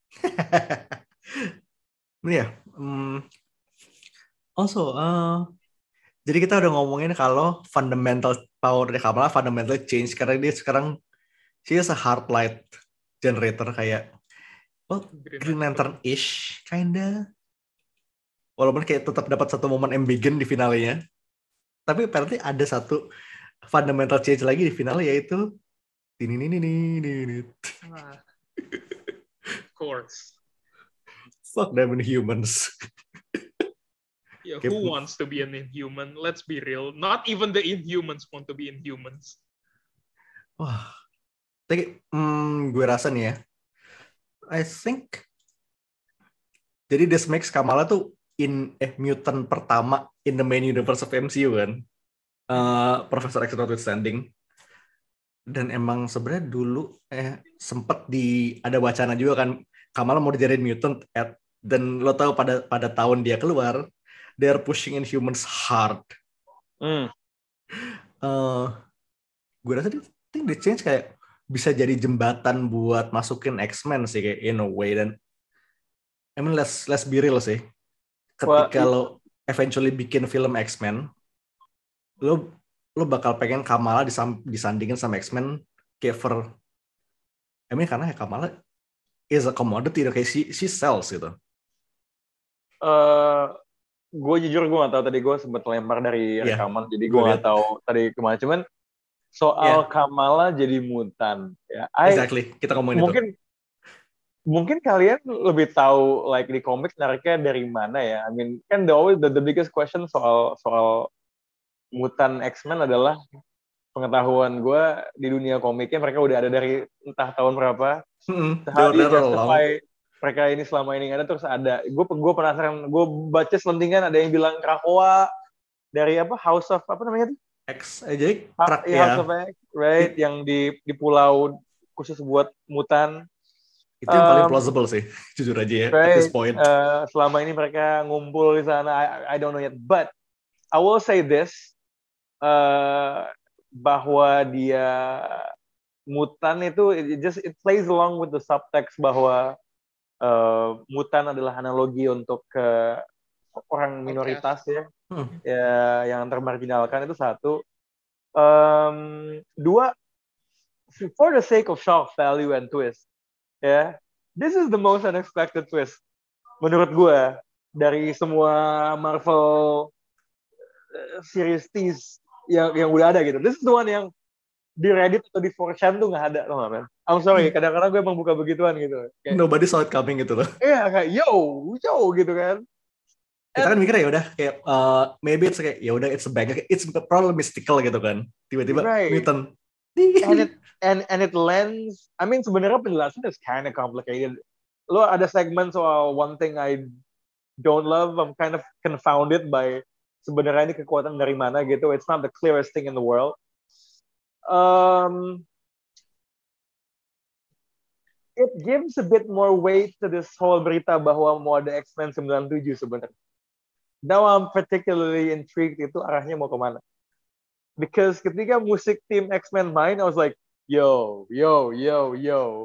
Ini ya. Um, also, uh, jadi kita udah ngomongin kalau fundamental power dari Kamala fundamental change karena dia sekarang she is a heart light generator kayak well, Green Lantern-ish kinda. Walaupun kayak tetap dapat satu momen ambiguous di finalnya. Tapi apparently ada satu fundamental change lagi di final yaitu ini ini ini ini. Of course. Fuck them Inhumans. Yeah, who wants to be an Inhuman? Let's be real. Not even the Inhumans want to be Inhumans. Wah. Tapi hmm, gue rasa nih ya. I think jadi this makes Kamala tuh in eh mutant pertama in the main universe of M C U kan. Uh, Professor X notwithstanding. Dan emang sebenarnya dulu eh sempet di ada wacana juga kan Kamala mau dijadiin mutant at, dan lo tahu pada pada tahun dia keluar they're pushing Inhumans hard. Hmm. Uh, gue rasa dia think the change kayak bisa jadi jembatan buat masukin X-Men sih kayak in a way dan I mean let's let's be real sih. Ketika well, lo eventually bikin film X-Men, lo lo bakal pengen Kamala disam, disandingin sama X-Men kayak for I mean karena ya Kamala is a commodity kayak she, she sells gitu. Uh, gue jujur gue nggak tahu tadi gue sempat lempar dari yeah. rekaman jadi gue nggak tahu tadi kemana cuman soal yeah. Kamala jadi mutan ya I, exactly kita ngomongin mungkin itu. Mungkin kalian lebih tahu like di komik nariknya dari mana ya I mean kan the always the, the biggest question soal soal mutan X-Men adalah pengetahuan gue di dunia komiknya mereka udah ada dari entah tahun berapa mm-hmm. justify mereka ini selama ini ada terus ada. Gue gue penasaran. Gue baca selentingan ada yang bilang Krakoa dari apa House of apa namanya itu? X aja. Ha- ya. House of X, right? It, yang di di pulau khusus buat mutan. Itu yang um, paling plausible sih, jujur aja ya. Right, at this point. Uh, selama ini mereka ngumpul di sana. I, I don't know yet. But I will say this, uh, bahwa dia mutan itu it just it plays along with the subtext bahwa Uh, mutan adalah analogi untuk uh, orang minoritas ya, hmm. ya yang termarginalkan itu satu. Um, dua, for the sake of shock value and twist, ya, yeah, this is the most unexpected twist menurut gue dari semua Marvel uh, series tease yang yang udah ada gitu. This is the one yang di Reddit atau di four chan tuh nggak ada loh man. I'm sorry, kadang-kadang gue emang buka begituan gitu. Kayak, nobody saw it coming gitu loh. Iya kayak yo, yo gitu kan. Kita kan mikirnya ya udah kayak uh, maybe it's kayak ya udah it's a bang, it's probably mystical gitu kan. Tiba-tiba right. mutant. And it and and it lends. I mean sebenarnya penjelasan is kind of complicated. Lo ada segmen soal one thing I don't love. I'm kind of confounded by sebenarnya ini kekuatan dari mana gitu. It's not the clearest thing in the world. Um, it gives a bit more weight to this whole berita bahwa mau ada X-Men sembilan puluh tujuh sebenarnya. Now I'm particularly intrigued itu arahnya mau kemana. Because ketika musik tim X-Men main, I was like, yo, yo, yo, yo.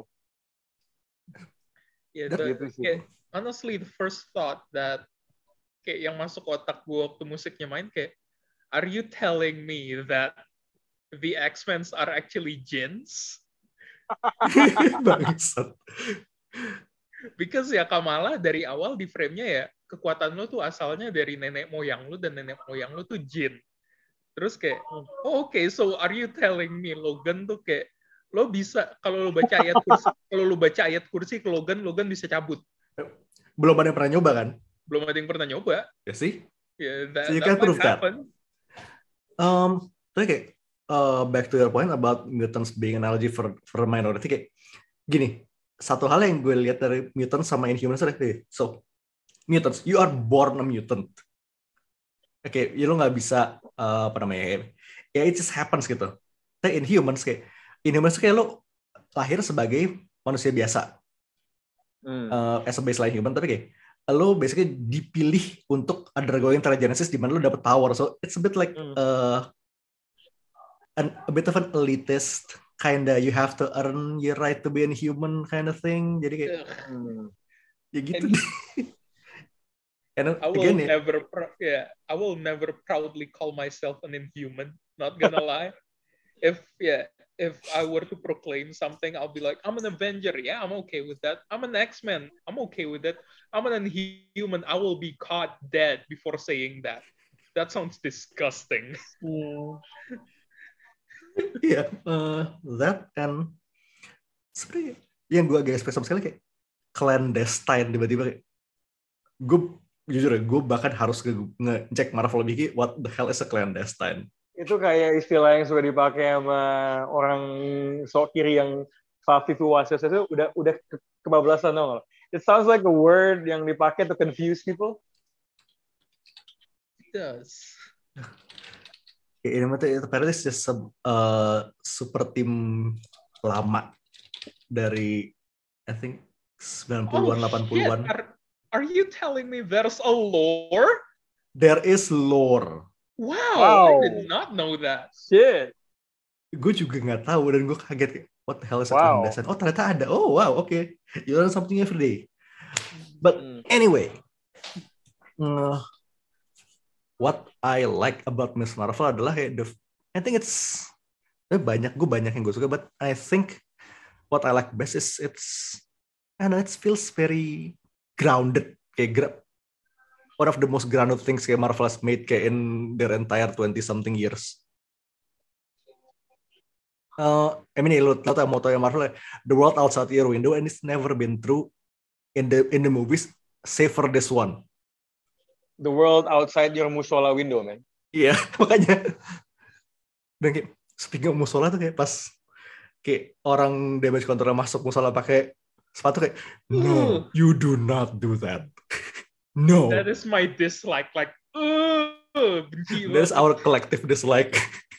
Yeah, the, gitu kayak, honestly, the first thought that kayak yang masuk otak gue waktu musiknya main kayak, are you telling me that the X-Men are actually jinns? Bangsat. Because ya Kamala dari awal di frame-nya ya kekuatan lo tuh asalnya dari nenek moyang lo dan nenek moyang lo tuh jin. Terus kayak, oh, oke, okay, so are you telling me Logan tuh kayak lo bisa kalau lo baca ayat kursi kalau lo baca ayat kursi ke Logan, Logan bisa cabut. Belum ada yang pernah nyoba kan? Belum ada yang pernah nyoba. Ya sih. Yeah, that, so you that can prove that. Um, tapi kayak uh, back to your point about mutants being analogy for for minority kayak gini. Satu hal yang gue lihat dari mutants sama Inhumans adalah, so mutants, you are born a mutant. Oke, okay, ya lo nggak bisa uh, apa namanya ya, it just happens gitu. Tapi Inhumans kayak Inhumans kayak lo lahir sebagai manusia biasa, Hmm. uh, as a baseline human, tapi kayak lo basically dipilih untuk undergoing Terrigenesis di mana lo dapet power, so it's a bit like Hmm. uh, an, a bit of an elitist kinda, you have to earn your right to be a human kind of thing. Jadi kayak Hmm. ya gitu. And And I will again, ya, never, pr- yeah, I will never proudly call myself an inhuman. Not gonna lie. If yeah, if I were to proclaim something, I'll be like, I'm an Avenger. Yeah, I'm okay with that. I'm an X-Men. I'm okay with it. I'm an inhuman. I will be caught dead before saying that. That sounds disgusting. Hmm. Iya, uh, that and sebenarnya yang gue agak spesial sekali kayak clandestine, tiba-tiba kayak gue jujur ya, gue bahkan harus nge- ngecek Marvel lebih, what the hell is a clandestine? Itu kayak istilah yang suka dipakai sama orang sok kiri yang Fafifu Wasios itu udah udah ke- kebablasan dong. It sounds like a word yang dipakai to confuse people. It does. Kayak ini mah tuh apparently it's just a uh, super tim lama dari I think sembilan puluhan delapan puluhan. Shit. Are, are you telling me there's a lore? There is lore. Wow, Wow. I did not know that. Shit. Gue juga nggak tahu dan gue kaget kayak, what the hell is a Wow. clandestine? Oh ternyata ada. Oh wow, oke. Okay. You learn something every day. But Hmm. anyway, uh, what I like about Miss Marvel adalah kayak the, I think it's eh, banyak gue banyak yang gue suka, but I think what I like best is it's, I don't know, it feels very grounded, kayak gra- one of the most grounded things kayak Marvel has made kayak in their entire twenty something years. Uh, I mean, lo tau moto yang Marvel, the world outside your window and it's never been true in the in the movies, save for this one. The world outside your musola window, man. Iya, makanya. Dan kayak speaking of musola tuh kayak pas kayak orang damage control masuk musola pakai sepatu kayak, no, you do not do that. No. That is my dislike. Like, uh, benci That's banget. our collective dislike.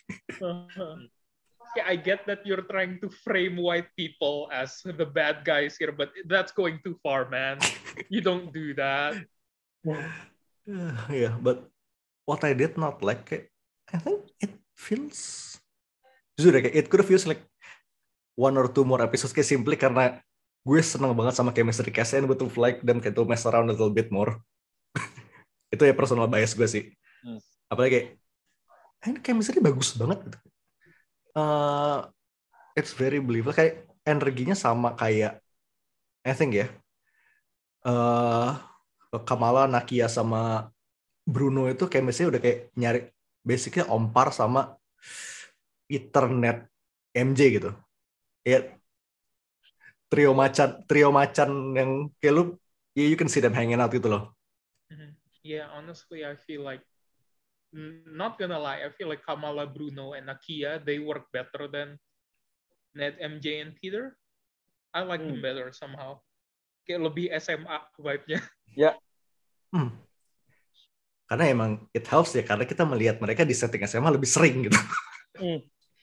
Yeah, I get that you're trying to frame white people as the bad guys here, but that's going too far, man. You don't do that. Yeah, but what I did not like, kayak, I think it feels, jujur ya, kayak it could feels like one or two more episodes kayak simply karena gue seneng banget sama chemistry cast and would like them kayak to mess around a little bit more. Itu ya personal bias gue sih. Hmm. Apalagi kayak, ini chemistry bagus banget gitu. Uh, it's very believable, kayak energinya sama kayak I think ya uh, Kamala, Nakia sama Bruno itu chemistry udah kayak nyari basically Ompar sama Ethernet M J gitu ya, trio macan trio macan yang kayak lu yeah, you can see them hanging out gitu loh. Yeah, honestly, I feel like, not gonna lie, I feel like Kamala, Bruno, and Nakia, they work better than Ned, M J, and Peter. I like them Hmm. better somehow. Kayak lebih S M A vibe-nya. Ya. Hmm. Karena emang it helps ya, karena kita melihat mereka di setting S M A lebih sering gitu. Hmm.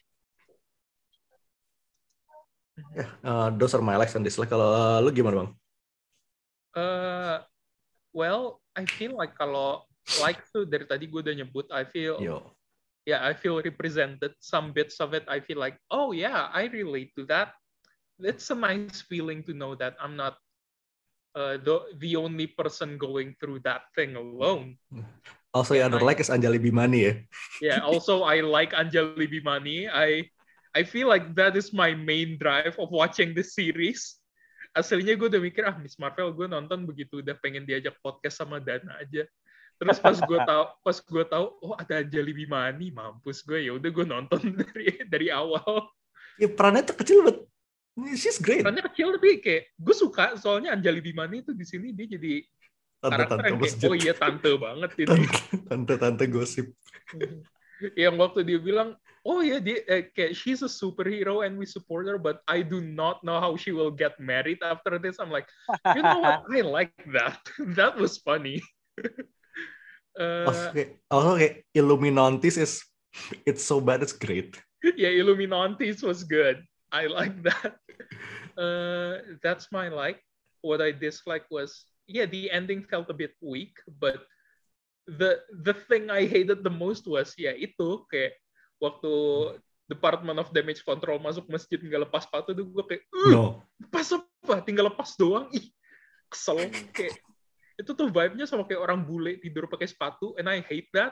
Yeah, uh, those are my likes and dislikes. Kalau uh, lu gimana bang? Uh, well, I feel like kalau like tuh dari tadi gue udah nyebut, I feel, Yo. yeah, I feel represented. Some bits of it, I feel like, oh yeah, I relate to that. It's a nice feeling to know that I'm not uh, the the only person going through that thing alone. Also, Yeah, your other I- like is Anjali Bimani ya. Yeah. Also, I like Anjali Bimani. I I feel like that is my main drive of watching this series. Aslinya gue udah mikir, ah Miss Marvel gue nonton begitu udah pengen diajak podcast sama Dana aja. Terus pas gue tahu, pas gue tahu, oh ada Anjali Bimani, mampus gue, ya udah gue nonton dari dari awal. Ya perannya tuh kecil but she's great. Perannya kecil tapi kayak gue suka, soalnya Anjali Bimani itu di sini dia jadi karakter Tante-tante yang kayak, masjid. oh iya tante banget ini. Tante-tante gosip. Yang waktu dia bilang, oh ya dia eh, kayak she's a superhero and we support her, but I do not know how she will get married after this. I'm like, you know what? I like that. That was funny. uh, Also kayak, also kayak Illuminantis is it's so bad it's great. yeah, Illuminantis was good. I like that. Uh, that's my like. What I dislike was, yeah, the ending felt a bit weak, but the the thing I hated the most was, ya itu kayak waktu Department of Damage Control masuk masjid nggak lepas sepatu tuh gue kayak, uh, No. lepas apa? Tinggal lepas doang. Ih, kesel. Kayak itu tuh vibe-nya sama kayak orang bule tidur pakai sepatu, and I hate that.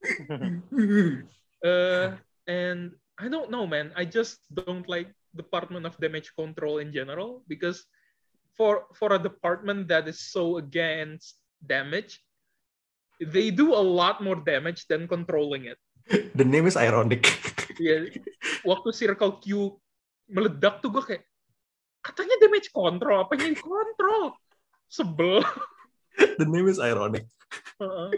uh, and I don't know, man. I just don't like Department of Damage Control in general, because for for a department that is so against damage, they do a lot more damage than controlling it. The name is ironic. Ya, waktu Circle Q meledak tuh gue kayak, katanya damage control, apanya yang kontrol? Sebel. The name is ironic. Uh-uh.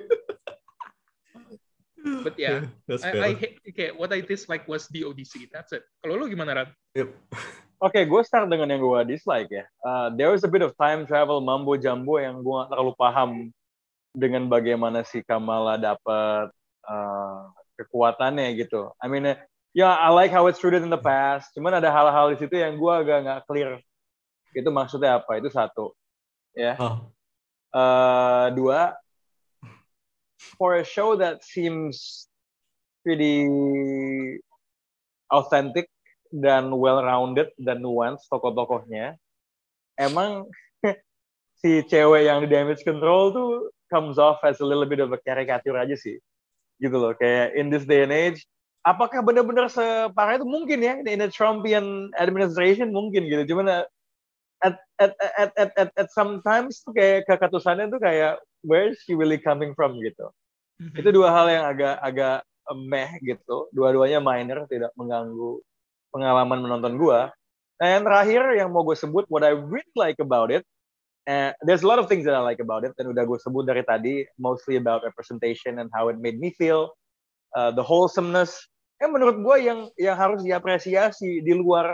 But yeah, That's I, fair. I hate, okay, what I dislike was the Odyssey. That's it. Kalau lu gimana, Ran? Yep. Oke, okay, gue start dengan yang gue dislike ya. Uh, there was a bit of time travel mambo jambo yang gue gak terlalu paham dengan bagaimana si Kamala dapat uh, kekuatannya gitu. I mean, ya yeah, I like how it's rooted in the past. Cuman ada hal-hal di situ yang gue agak nggak clear. Itu maksudnya apa? Itu satu. Ya. Yeah. Oh. Uh, dua. For a show that seems pretty authentic dan well-rounded dan nuanced tokoh-tokohnya, emang si cewek yang di damage control tuh comes off as a little bit of a caricature aja sih, gitu loh. Kayak in this day and age, apakah benar-benar separah itu? Mungkin ya, in a Trumpian administration mungkin gitu. Cuman at at at at at, at sometimes tuh kayak kekatusannya tuh kayak where is she really coming from gitu. Mm-hmm. Itu dua hal yang agak agak meh gitu. Dua-duanya minor, tidak mengganggu pengalaman menonton gua. Nah yang terakhir yang mau gue sebut, what I really like about it, uh, there's a lot of things that I like about it, dan udah gue sebut dari tadi, mostly about representation and how it made me feel, uh, the wholesomeness. Yang menurut gue yang yang harus diapresiasi di luar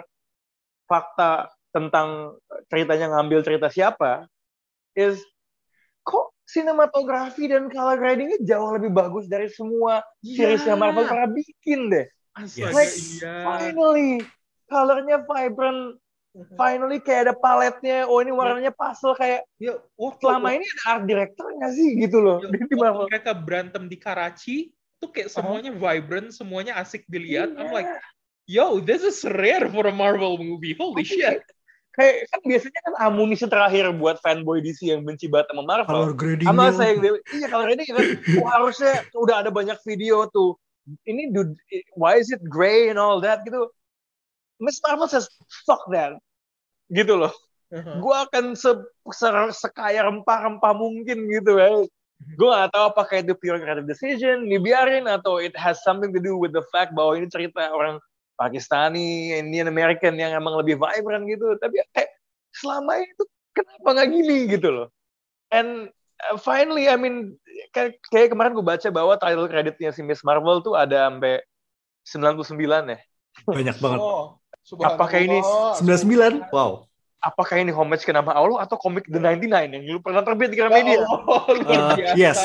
fakta tentang ceritanya ngambil cerita siapa, is kok sinematografi dan color gradingnya jauh lebih bagus dari semua series yang Marvel pernah bikin deh. Astaga, like, iya. Finally, colornya vibrant, finally kayak ada paletnya, oh ini warnanya pastel kayak, ya, oh, selama ini ada art director nggak sih gitu loh. Yo, di Marvel. Mereka berantem di Karachi, tuh kayak semuanya uh-huh. vibrant, semuanya asik dilihat. Yeah. I'm like, yo, this is rare for a Marvel movie, holy shit. Kayak kan biasanya kan amunisi terakhir buat fanboy D C yang benci banget sama Marvel. Color gradingnya. Sama saya yang iya color grading kan, oh, harusnya udah ada banyak video tuh. Ini dude, why is it gray and all that gitu. Miss Marvel says fuck that, gitu loh. Uh-huh. Gue akan se- se- sekaya rempah-rempah mungkin gitu ya. Gue gak tahu apakah itu pure creative decision, dibiarin atau it has something to do with the fact bahwa ini cerita orang Pakistani, Indian American yang emang lebih vibrant gitu. Tapi kayak selama itu kenapa nggak gini gitu loh. And uh, finally, I mean, kayak, kayak kemarin gue baca bahwa title creditnya si Miss Marvel tuh ada sampai sembilan puluh sembilan ya. Banyak banget. Oh, apakah ini sembilan puluh sembilan? Wow. Apakah ini homage ke nama Allah atau komik The ninety nine yang dulu pernah terbit di Gramedia? Oh, luar biasa. Uh, yes.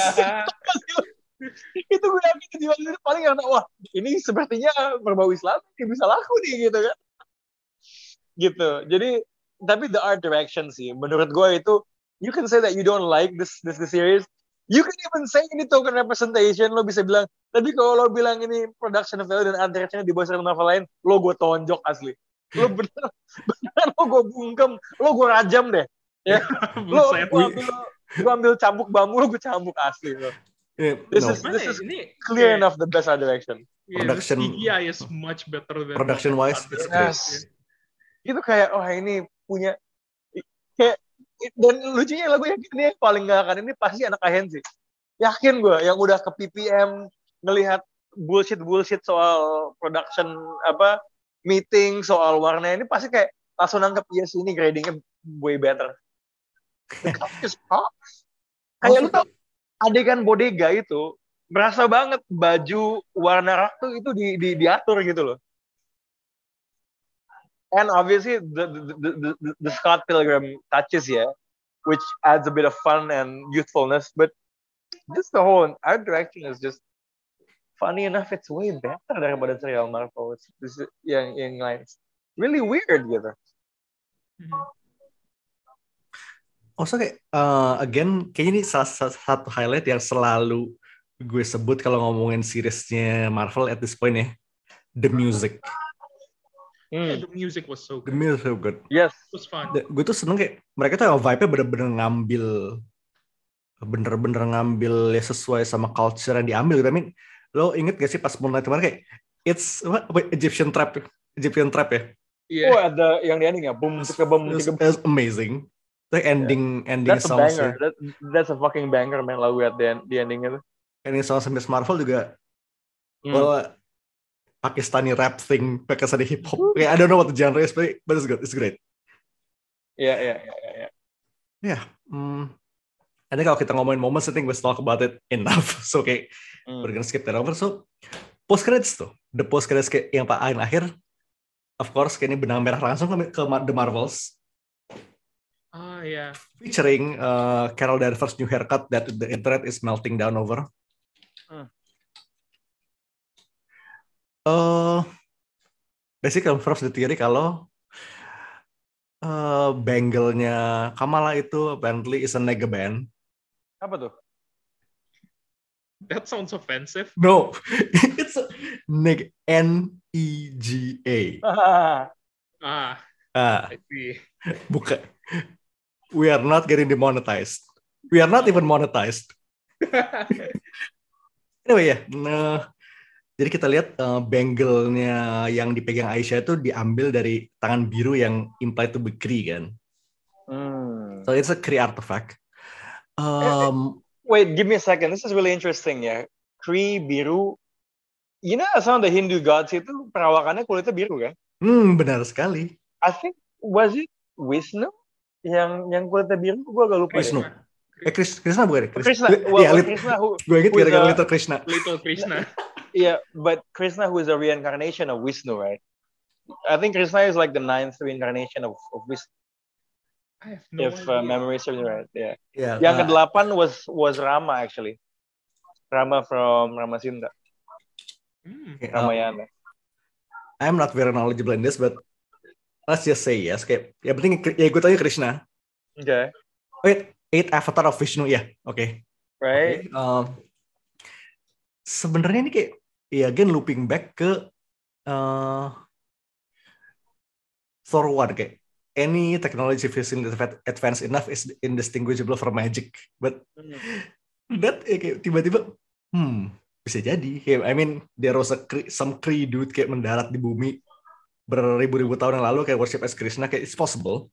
Itu gue yakin kejualan itu paling karena wah ini sepertinya berbau Islam ini bisa laku nih gitu kan. Gitu. Jadi tapi the art direction sih menurut gue itu, you can say that you don't like this this, this series. You can even say ini token representation, lo bisa bilang, tapi kalau lo bilang ini production value dan art direction di bawah cerita novel lain, lo gue tonjok asli. Lo bener, bener lo gue bungkem, lo gue rajam deh. Ya. Lo gue ambil, gue ambil cambuk bambu, lo gue cambuk asli lo. Yeah, this no. is this is ini, clear yeah. enough the best art direction. Yeah, production C G I is much better than production wise. Yes. Itu kayak oh ini punya kayak dan lucunya lagu yang ini yang paling gak akan ini pasti anak Ahen sih. Yakin gue yang udah ke P P M ngelihat bullshit bullshit soal production apa meeting soal warna ini pasti kayak langsung nangkep ya yes, ini gradingnya way better. Kayak lu tau adegan bodega itu berasa banget baju warna rak tuh itu di, di diatur gitu loh. And obviously the the, the the the Scott Pilgrim touches ya, yeah, which adds a bit of fun and youthfulness. But this the whole art direction is just funny enough. It's way better daripada serial Marvel. It's, it's, yang yang lain. really weird gitu. Also kayak uh, again kayaknya ini salah satu highlight yang selalu gue sebut kalau ngomongin seriesnya Marvel at this point ya, the music. Yeah, the music was so good. The music so good. Yes. It was fun. The, gue tuh seneng kayak mereka tuh vibe-nya bener-bener ngambil bener-bener ngambil ya sesuai sama culture yang diambil gitu. I mean, lo inget gak sih pas Moon Knight kemarin kayak it's what, what, Egyptian trap Egyptian trap ya? Yeah. Oh ada yang di ending ya, boom tiga boom tiga boom. That's amazing. The ending yeah. ending that's a banger. Ya. That, that's a fucking banger man lagu at the, the ending itu. Ending songs Miss Marvel juga, hmm. well, Pakistani rap thing, Pakistani hip hop. Yeah, I don't know what the genre is, but it's good. It's great. Yeah, yeah, yeah, yeah. Yeah. Yeah. Hmm. I think kalau kita ngomongin moments, I think we talk about it enough. So kayak hmm. we're gonna skip that over. So post credits tuh, the post credits kayak yang paling akhir, of course, kayak ini benang merah langsung ke, ke The Marvels. Ah, yeah. Featuring uh, Carol Danvers' new haircut that the internet is melting down over. Hmm. Uh, basically confirms the theory kalau uh, bangle-nya Kamala itu apparently is a nega band. Apa tuh? That sounds offensive. No, it's a neg N E G A. Ah, ah, I see. Bukan. We are not getting demonetized. We are not even monetized. Anyway ya, yeah. nah, jadi kita lihat uh, bangle-nya yang dipegang Aisyah itu diambil dari tangan biru yang implied to be Kree kan. Hmm. So it's a Kree artifact. Um, Wait, give me a second. This is really interesting ya. Kree biru. You know, some of the Hindu gods itu perawakannya kulitnya biru kan? Hmm, benar sekali. I think was it Wisnu? Yang yang kulitnya biru, gue agak lupa. Wisnu. Eh, Chris, Krishna bukan? Krishna. Well, yeah, Krishna who, gue inget gara-gara Little Krishna. Little Krishna. Yeah, but Krishna who is a reincarnation of Wisnu, right? I think Krishna is like the ninth reincarnation of, of Wisnu. I have no if uh, memory serves me right, yeah. yeah yang uh, kedelapan was was Rama actually. Rama from Ramasinta. Hmm. Ramayana. Um, I'm not very knowledgeable in this, but let's just say yes. Kayak, ya penting ya gue tanya Krishna. Oke. Okay. Wait, eight avatar of Vishnu ya, yeah. Oke. Okay. Right. Okay. Um, Sebenarnya ini kayak, ya again looping back ke uh, Thor one kayak any technology physically advanced enough is indistinguishable from magic, but hmm. that ya, kayak tiba-tiba, hmm bisa jadi. Kayak, I mean there was a some Kree dude kayak mendarat di bumi beribu-ribu tahun yang lalu kayak worship as Krishna, kayak it's possible.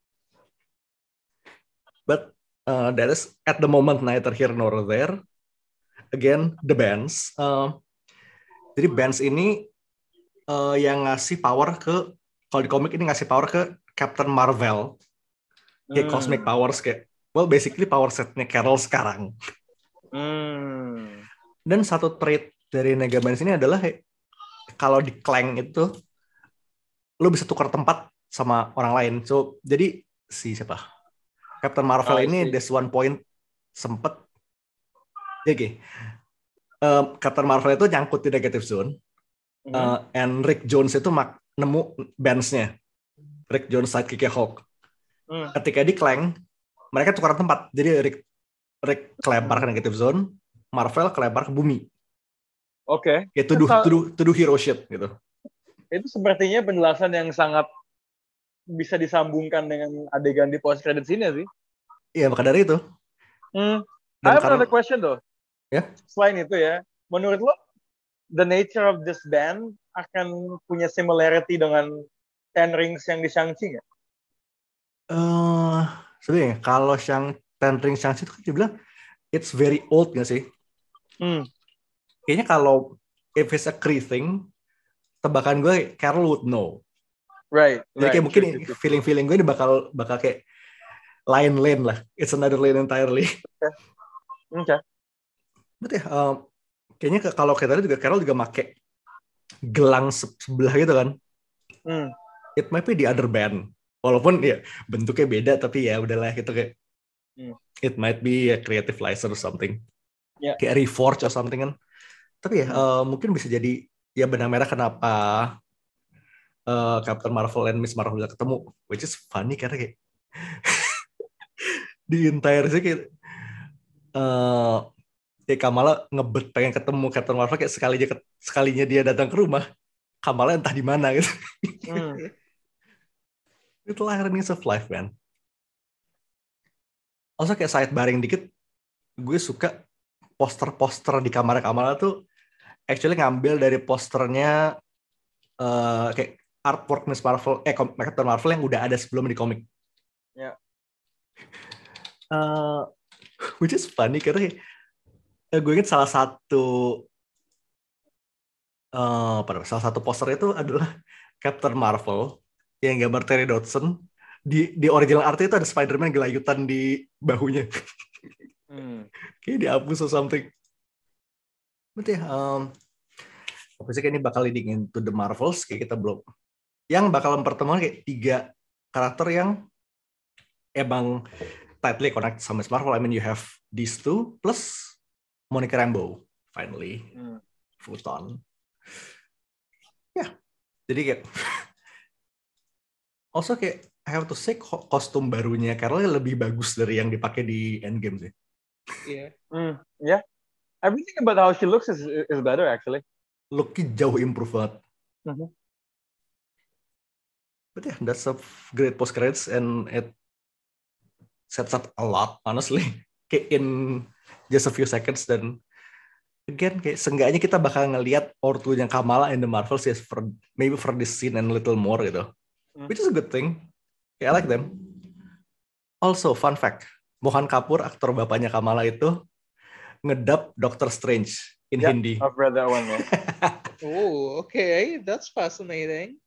But uh, that is at the moment neither here nor there. Again, the bands. Uh, jadi bands ini uh, yang ngasih power ke, kalau di komik ini ngasih power ke Captain Marvel. Kayak hmm. cosmic powers kayak, well basically power setnya Carol sekarang. Hmm. Dan satu trait dari Nega Bands ini adalah hey, kalau di Clank itu lo bisa tukar tempat sama orang lain. So jadi si siapa? Captain Marvel oh, ini there's one point sempet jadi okay. uh, Captain Marvel itu nyangkut di negative zone. Mm-hmm. uh, and Rick Jones itu mak- nemu bands-nya. Rick Jones sidekick-nya Hulk. Mm. Ketika di Clank mereka tukar tempat. Jadi Rick Rick kelempar ke negative zone, Marvel kelempar ke bumi. Oke. Okay. Ya to do, to do, to do hero shit gitu. Itu sepertinya penjelasan yang sangat bisa disambungkan dengan adegan di post credits ini sih. Iya, maka dari itu. Hmm. I have karena, another question though. Ya. Yeah? Selain itu ya, menurut lo the nature of this band akan punya similarity dengan Ten Rings yang di Shang-Chi nggak? Eh, uh, sebenarnya kalau Shang Ten Rings Shang-Chi itu kan dia bilang it's very old nggak sih? Hmm. Kayaknya kalau if it's a Kree thing, tebakan gue Carol would know. Right. Jadi right, kayak mungkin true, true, feeling-feeling gue ini bakal bakal kayak lain lane lah. It's another lane entirely. Oke. Okay. Betul ya. Um, kayaknya kalau kayak tadi juga Carol juga make gelang sebelah gitu kan. Hmm. It might be the other band. Walaupun ya bentuknya beda tapi ya udahlah gitu kayak. Hmm. It might be a creative license or something. Yeah. Kayak Reforge or something kan. Tapi ya hmm. uh, mungkin bisa jadi ya benang merah kenapa uh, Captain Marvel and Miss Marvel bisa ketemu, which is funny karena kayak di entire sih kayak uh, ya Kamala ngebet pengen ketemu Captain Marvel kayak sekalinya sekalinya dia datang ke rumah, Kamala entah di mana gitu. Hmm. Itulah ironies of life, man. Also kayak sidebarring dikit, gue suka poster-poster di kamar Kamala tuh actually ngambil dari posternya uh, kayak artwork Miss Marvel, eh Captain Marvel yang udah ada sebelum di komik. Ya. Yeah. Uh, which is funny karena uh, gue ingat salah satu uh, pada salah satu poster itu adalah Captain Marvel yang gambar Terry Dodson. Di di original art itu ada Spider-Man gelayutan di bahunya. Hmm. Kayak dihapus or something. Betul ya. Um, Obviously kayak ini bakal leading into the Marvels. Kayak kita belum. Yang bakal mempertemukan kayak tiga karakter yang emang tightly connect sama Marvel. I mean you have these two plus Monica Rambeau finally. Hmm. Photon. Ya. Yeah. Jadi kayak also kayak I have to say kostum barunya Carol lebih bagus dari yang dipakai di Endgame sih. Iya. Yeah. Mm, yeah. Everything about how she looks is is better actually. Look-nya jauh improve banget. Mm-hmm. But yeah, that's a great post credits and it sets up a lot honestly. Kayak in just a few seconds dan again kayak seenggaknya kita bakal ngelihat ortunya Kamala in the Marvels yes, for maybe for this scene and a little more gitu. Mm. Which is a good thing. I like them. Also, fun fact, Mohan Kapoor, aktor bapaknya Kamala itu ngedub Doctor Strange in yeah, Hindi. I've read that one. Yeah. Oh, okay, that's fascinating.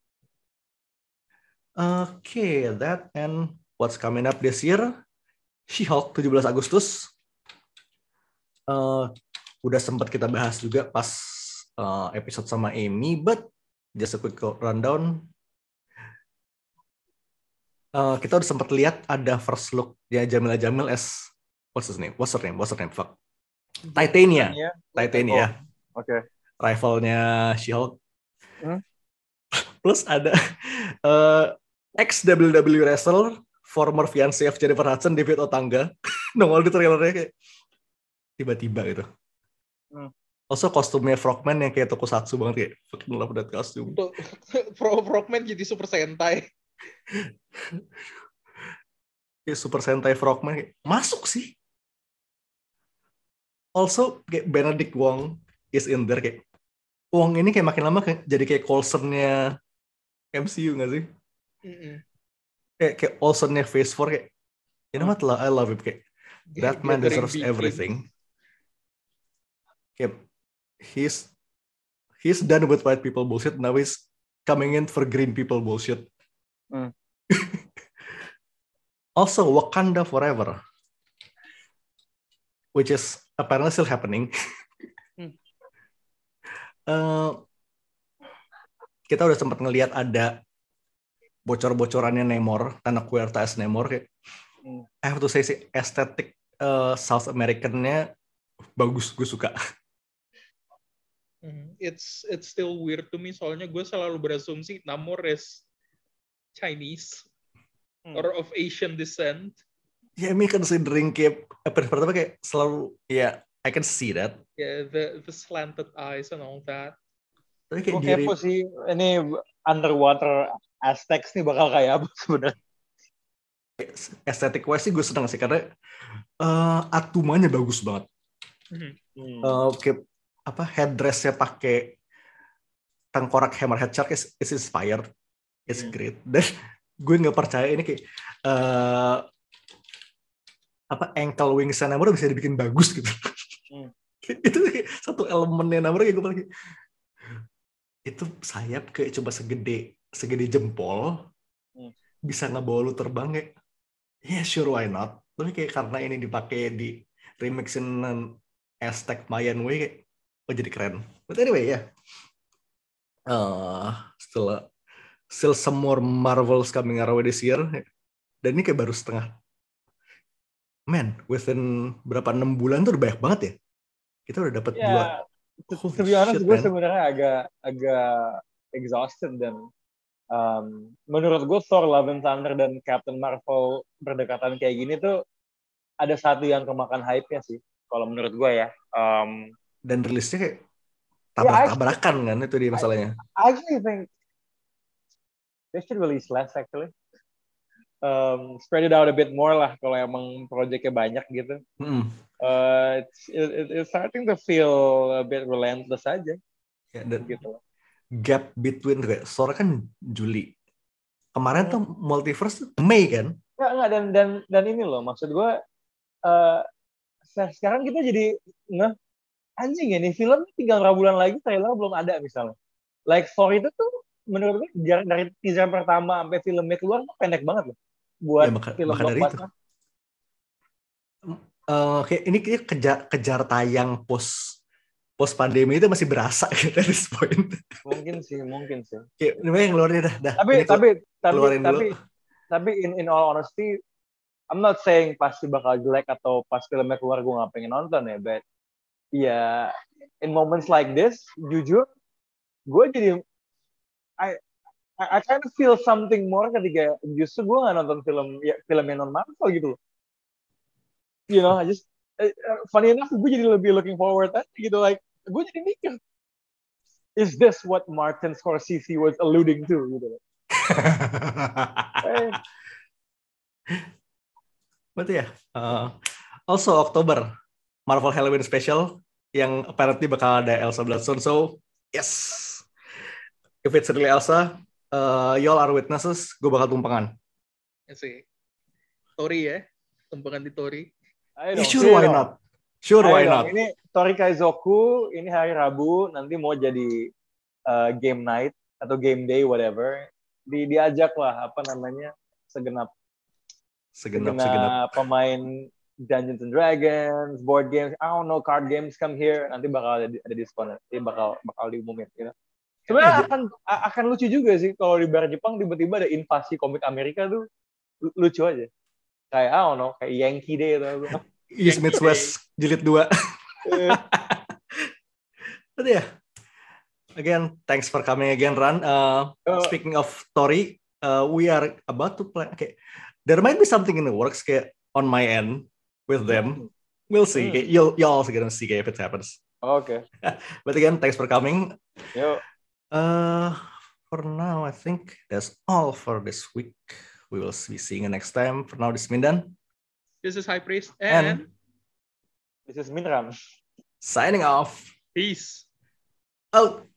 Okay, that and what's coming up this year? She-Hulk tujuh belas Agustus. Uh, udah sempat kita bahas juga pas uh, episode sama Amy, but just a quick rundown. Uh, kita udah sempat lihat ada first look ya Jamila Jamil as what's his name? What's her name? What's her name? Fuck. Titania. Titania. Titania. Oh, Oke. Okay. Rivalnya She-Hulk. Hmm? Plus ada uh, ex W W E wrestler, former fiancé of Jennifer Hudson, David Otanga. Nongol di trailernya kayak tiba-tiba gitu. Hmm. Also kostumnya Frogman yang kayak tokusatsu banget kayak fucking love that costume. Frogman jadi Super Sentai. Kayak Super Sentai Frogman kayak, masuk sih. Also kayak Benedict Wong is in there kayak Wong ini kayak makin lama kayak, jadi kayak Coulson-nya M C U nggak sih? Mm-hmm. Kayak kayak Olsen-nya Phase four kayak you know what I love him kayak that man deserves everything. Kayak he's he's done with white people bullshit, now he's coming in for green people bullshit. Hmm. Also Wakanda Forever, which is apparently still happening. hmm. uh, kita udah sempat ngelihat ada bocor-bocorannya Namor, Tanah Huerta as Namor. Kayak, hmm. I have to say sih estetik uh, South American-nya bagus, gue suka. It's it's still weird to me soalnya gue selalu berasumsi Namor is Chinese hmm. or of Asian descent. Ya, yeah, me considering kayak pertama kayak selalu ya yeah, I can see that. Yeah, the the slanted eyes and all that. Tapi kayak gue kepo sih ini underwater Aztecs nih bakal kayak apa sebenarnya. Estetik wise sih gue seneng sih karena uh, atumanya bagus banget. Hmm. Uh, kayak apa headdress-nya pakai tengkorak hammerhead shark is, is inspired. It's hmm. great. Dan gue nggak percaya ini kayak uh, apa ankle wings-nya Namor bisa dibikin bagus gitu. Hmm. Itu kayak satu elemennya Namor kayak gue lagi itu sayap kayak coba segede segede jempol hmm. bisa ngebawa lu terbang kayak ya yeah, sure why not. Tapi kayak karena ini dipakai di remixin Aztec Mayan way kayak oh jadi keren. But anyway ya yeah. uh, still still some more Marvels coming our way this year dan ini kayak baru setengah. Man, within berapa enam bulan tuh udah banyak banget ya. Kita udah dapat yeah. dua. To be honest, gue sebenarnya agak agak exhausted dan Um, menurut gue Thor Love and Thunder dan Captain Marvel berdekatan kayak gini tuh ada satu yang kemakan hype-nya sih, kalau menurut gue ya. Um, Dan rilisnya kayak tabrak-tabrakan yeah, kan, itu dia masalahnya. I actually think they should release less actually. Um, spread it out a bit more lah kalau emang projectnya banyak gitu. Mm. Uh, it's, it, it's starting to feel a bit relentless aja. Ya, dan gitu. Gap between kayak Thor kan Juli. Kemarin hmm. tuh Multiverse tuh Mei kan? Enggak, enggak dan dan dan ini loh maksud gue uh, sekarang kita jadi nge anjing ya nih film tinggal berapa bulan lagi trailer belum ada misalnya. Like Thor itu tuh menurut gue dari teaser pertama sampai filmnya keluar tuh pendek banget loh. Buat ya, maka, film maka dari itu. Uh, kayak ini kayak kejar, kejar tayang post post pandemi itu masih berasa gitu at this point. Mungkin sih, mungkin sih. Kayak ini yang keluarin dah, dah. Tapi ini tapi tapi keluarin tapi dulu. tapi in in all honesty, I'm not saying pasti bakal jelek atau pas filmnya keluar gue nggak pengen nonton ya, but ya yeah, in moments like this, jujur, gue jadi I I, I kind of feel something more ketika justru gue nggak nonton film ya, film yang non Marvel gitu loh. You know, I just uh, funny enough gue jadi lebih looking forward aja gitu, like gue jadi mikir, is this what Martin Scorsese was alluding to gitu loh. eh. Betul ya. Uh, also Oktober Marvel Halloween Special yang apparently bakal ada Elsa Bloodstone, so yes, if it's really Elsa, uh, y'all are witnesses, gue bakal tumpangan. Ya sih, Tori ya, tumpangan di Tori. Yeah, sure why not? Sure why not? Ini Tori Kaizoku, ini hari Rabu, nanti mau jadi uh, game night atau game day whatever, di diajak lah apa namanya segenap segenap segenap, segenap. pemain Dungeons and Dragons, board games, I don't know, card games come here, nanti bakal ada, ada diskon, nanti bakal bakal diumumin, gitu. Sebenarnya yeah, akan yeah. akan lucu juga sih kalau di bar Jepang tiba-tiba ada invasi komik Amerika tuh lucu aja. Kayak I don't know, kayak Yankee Day atau apa. East meets West jilid dua. Tapi ya. Again, thanks for coming again, Ran. Uh, uh, speaking of Tori, uh, we are about to plan. Okay, there might be something in the works, kayak on my end with them. We'll see. Mm. You'll you'll also gonna see kayak if it happens. Okay. But again, thanks for coming. Yo. Uh, for now, I think that's all for this week. We will be seeing you next time. For now, this is Mindan. This is High Priest. And, and this is Minran. Signing off. Peace. Out.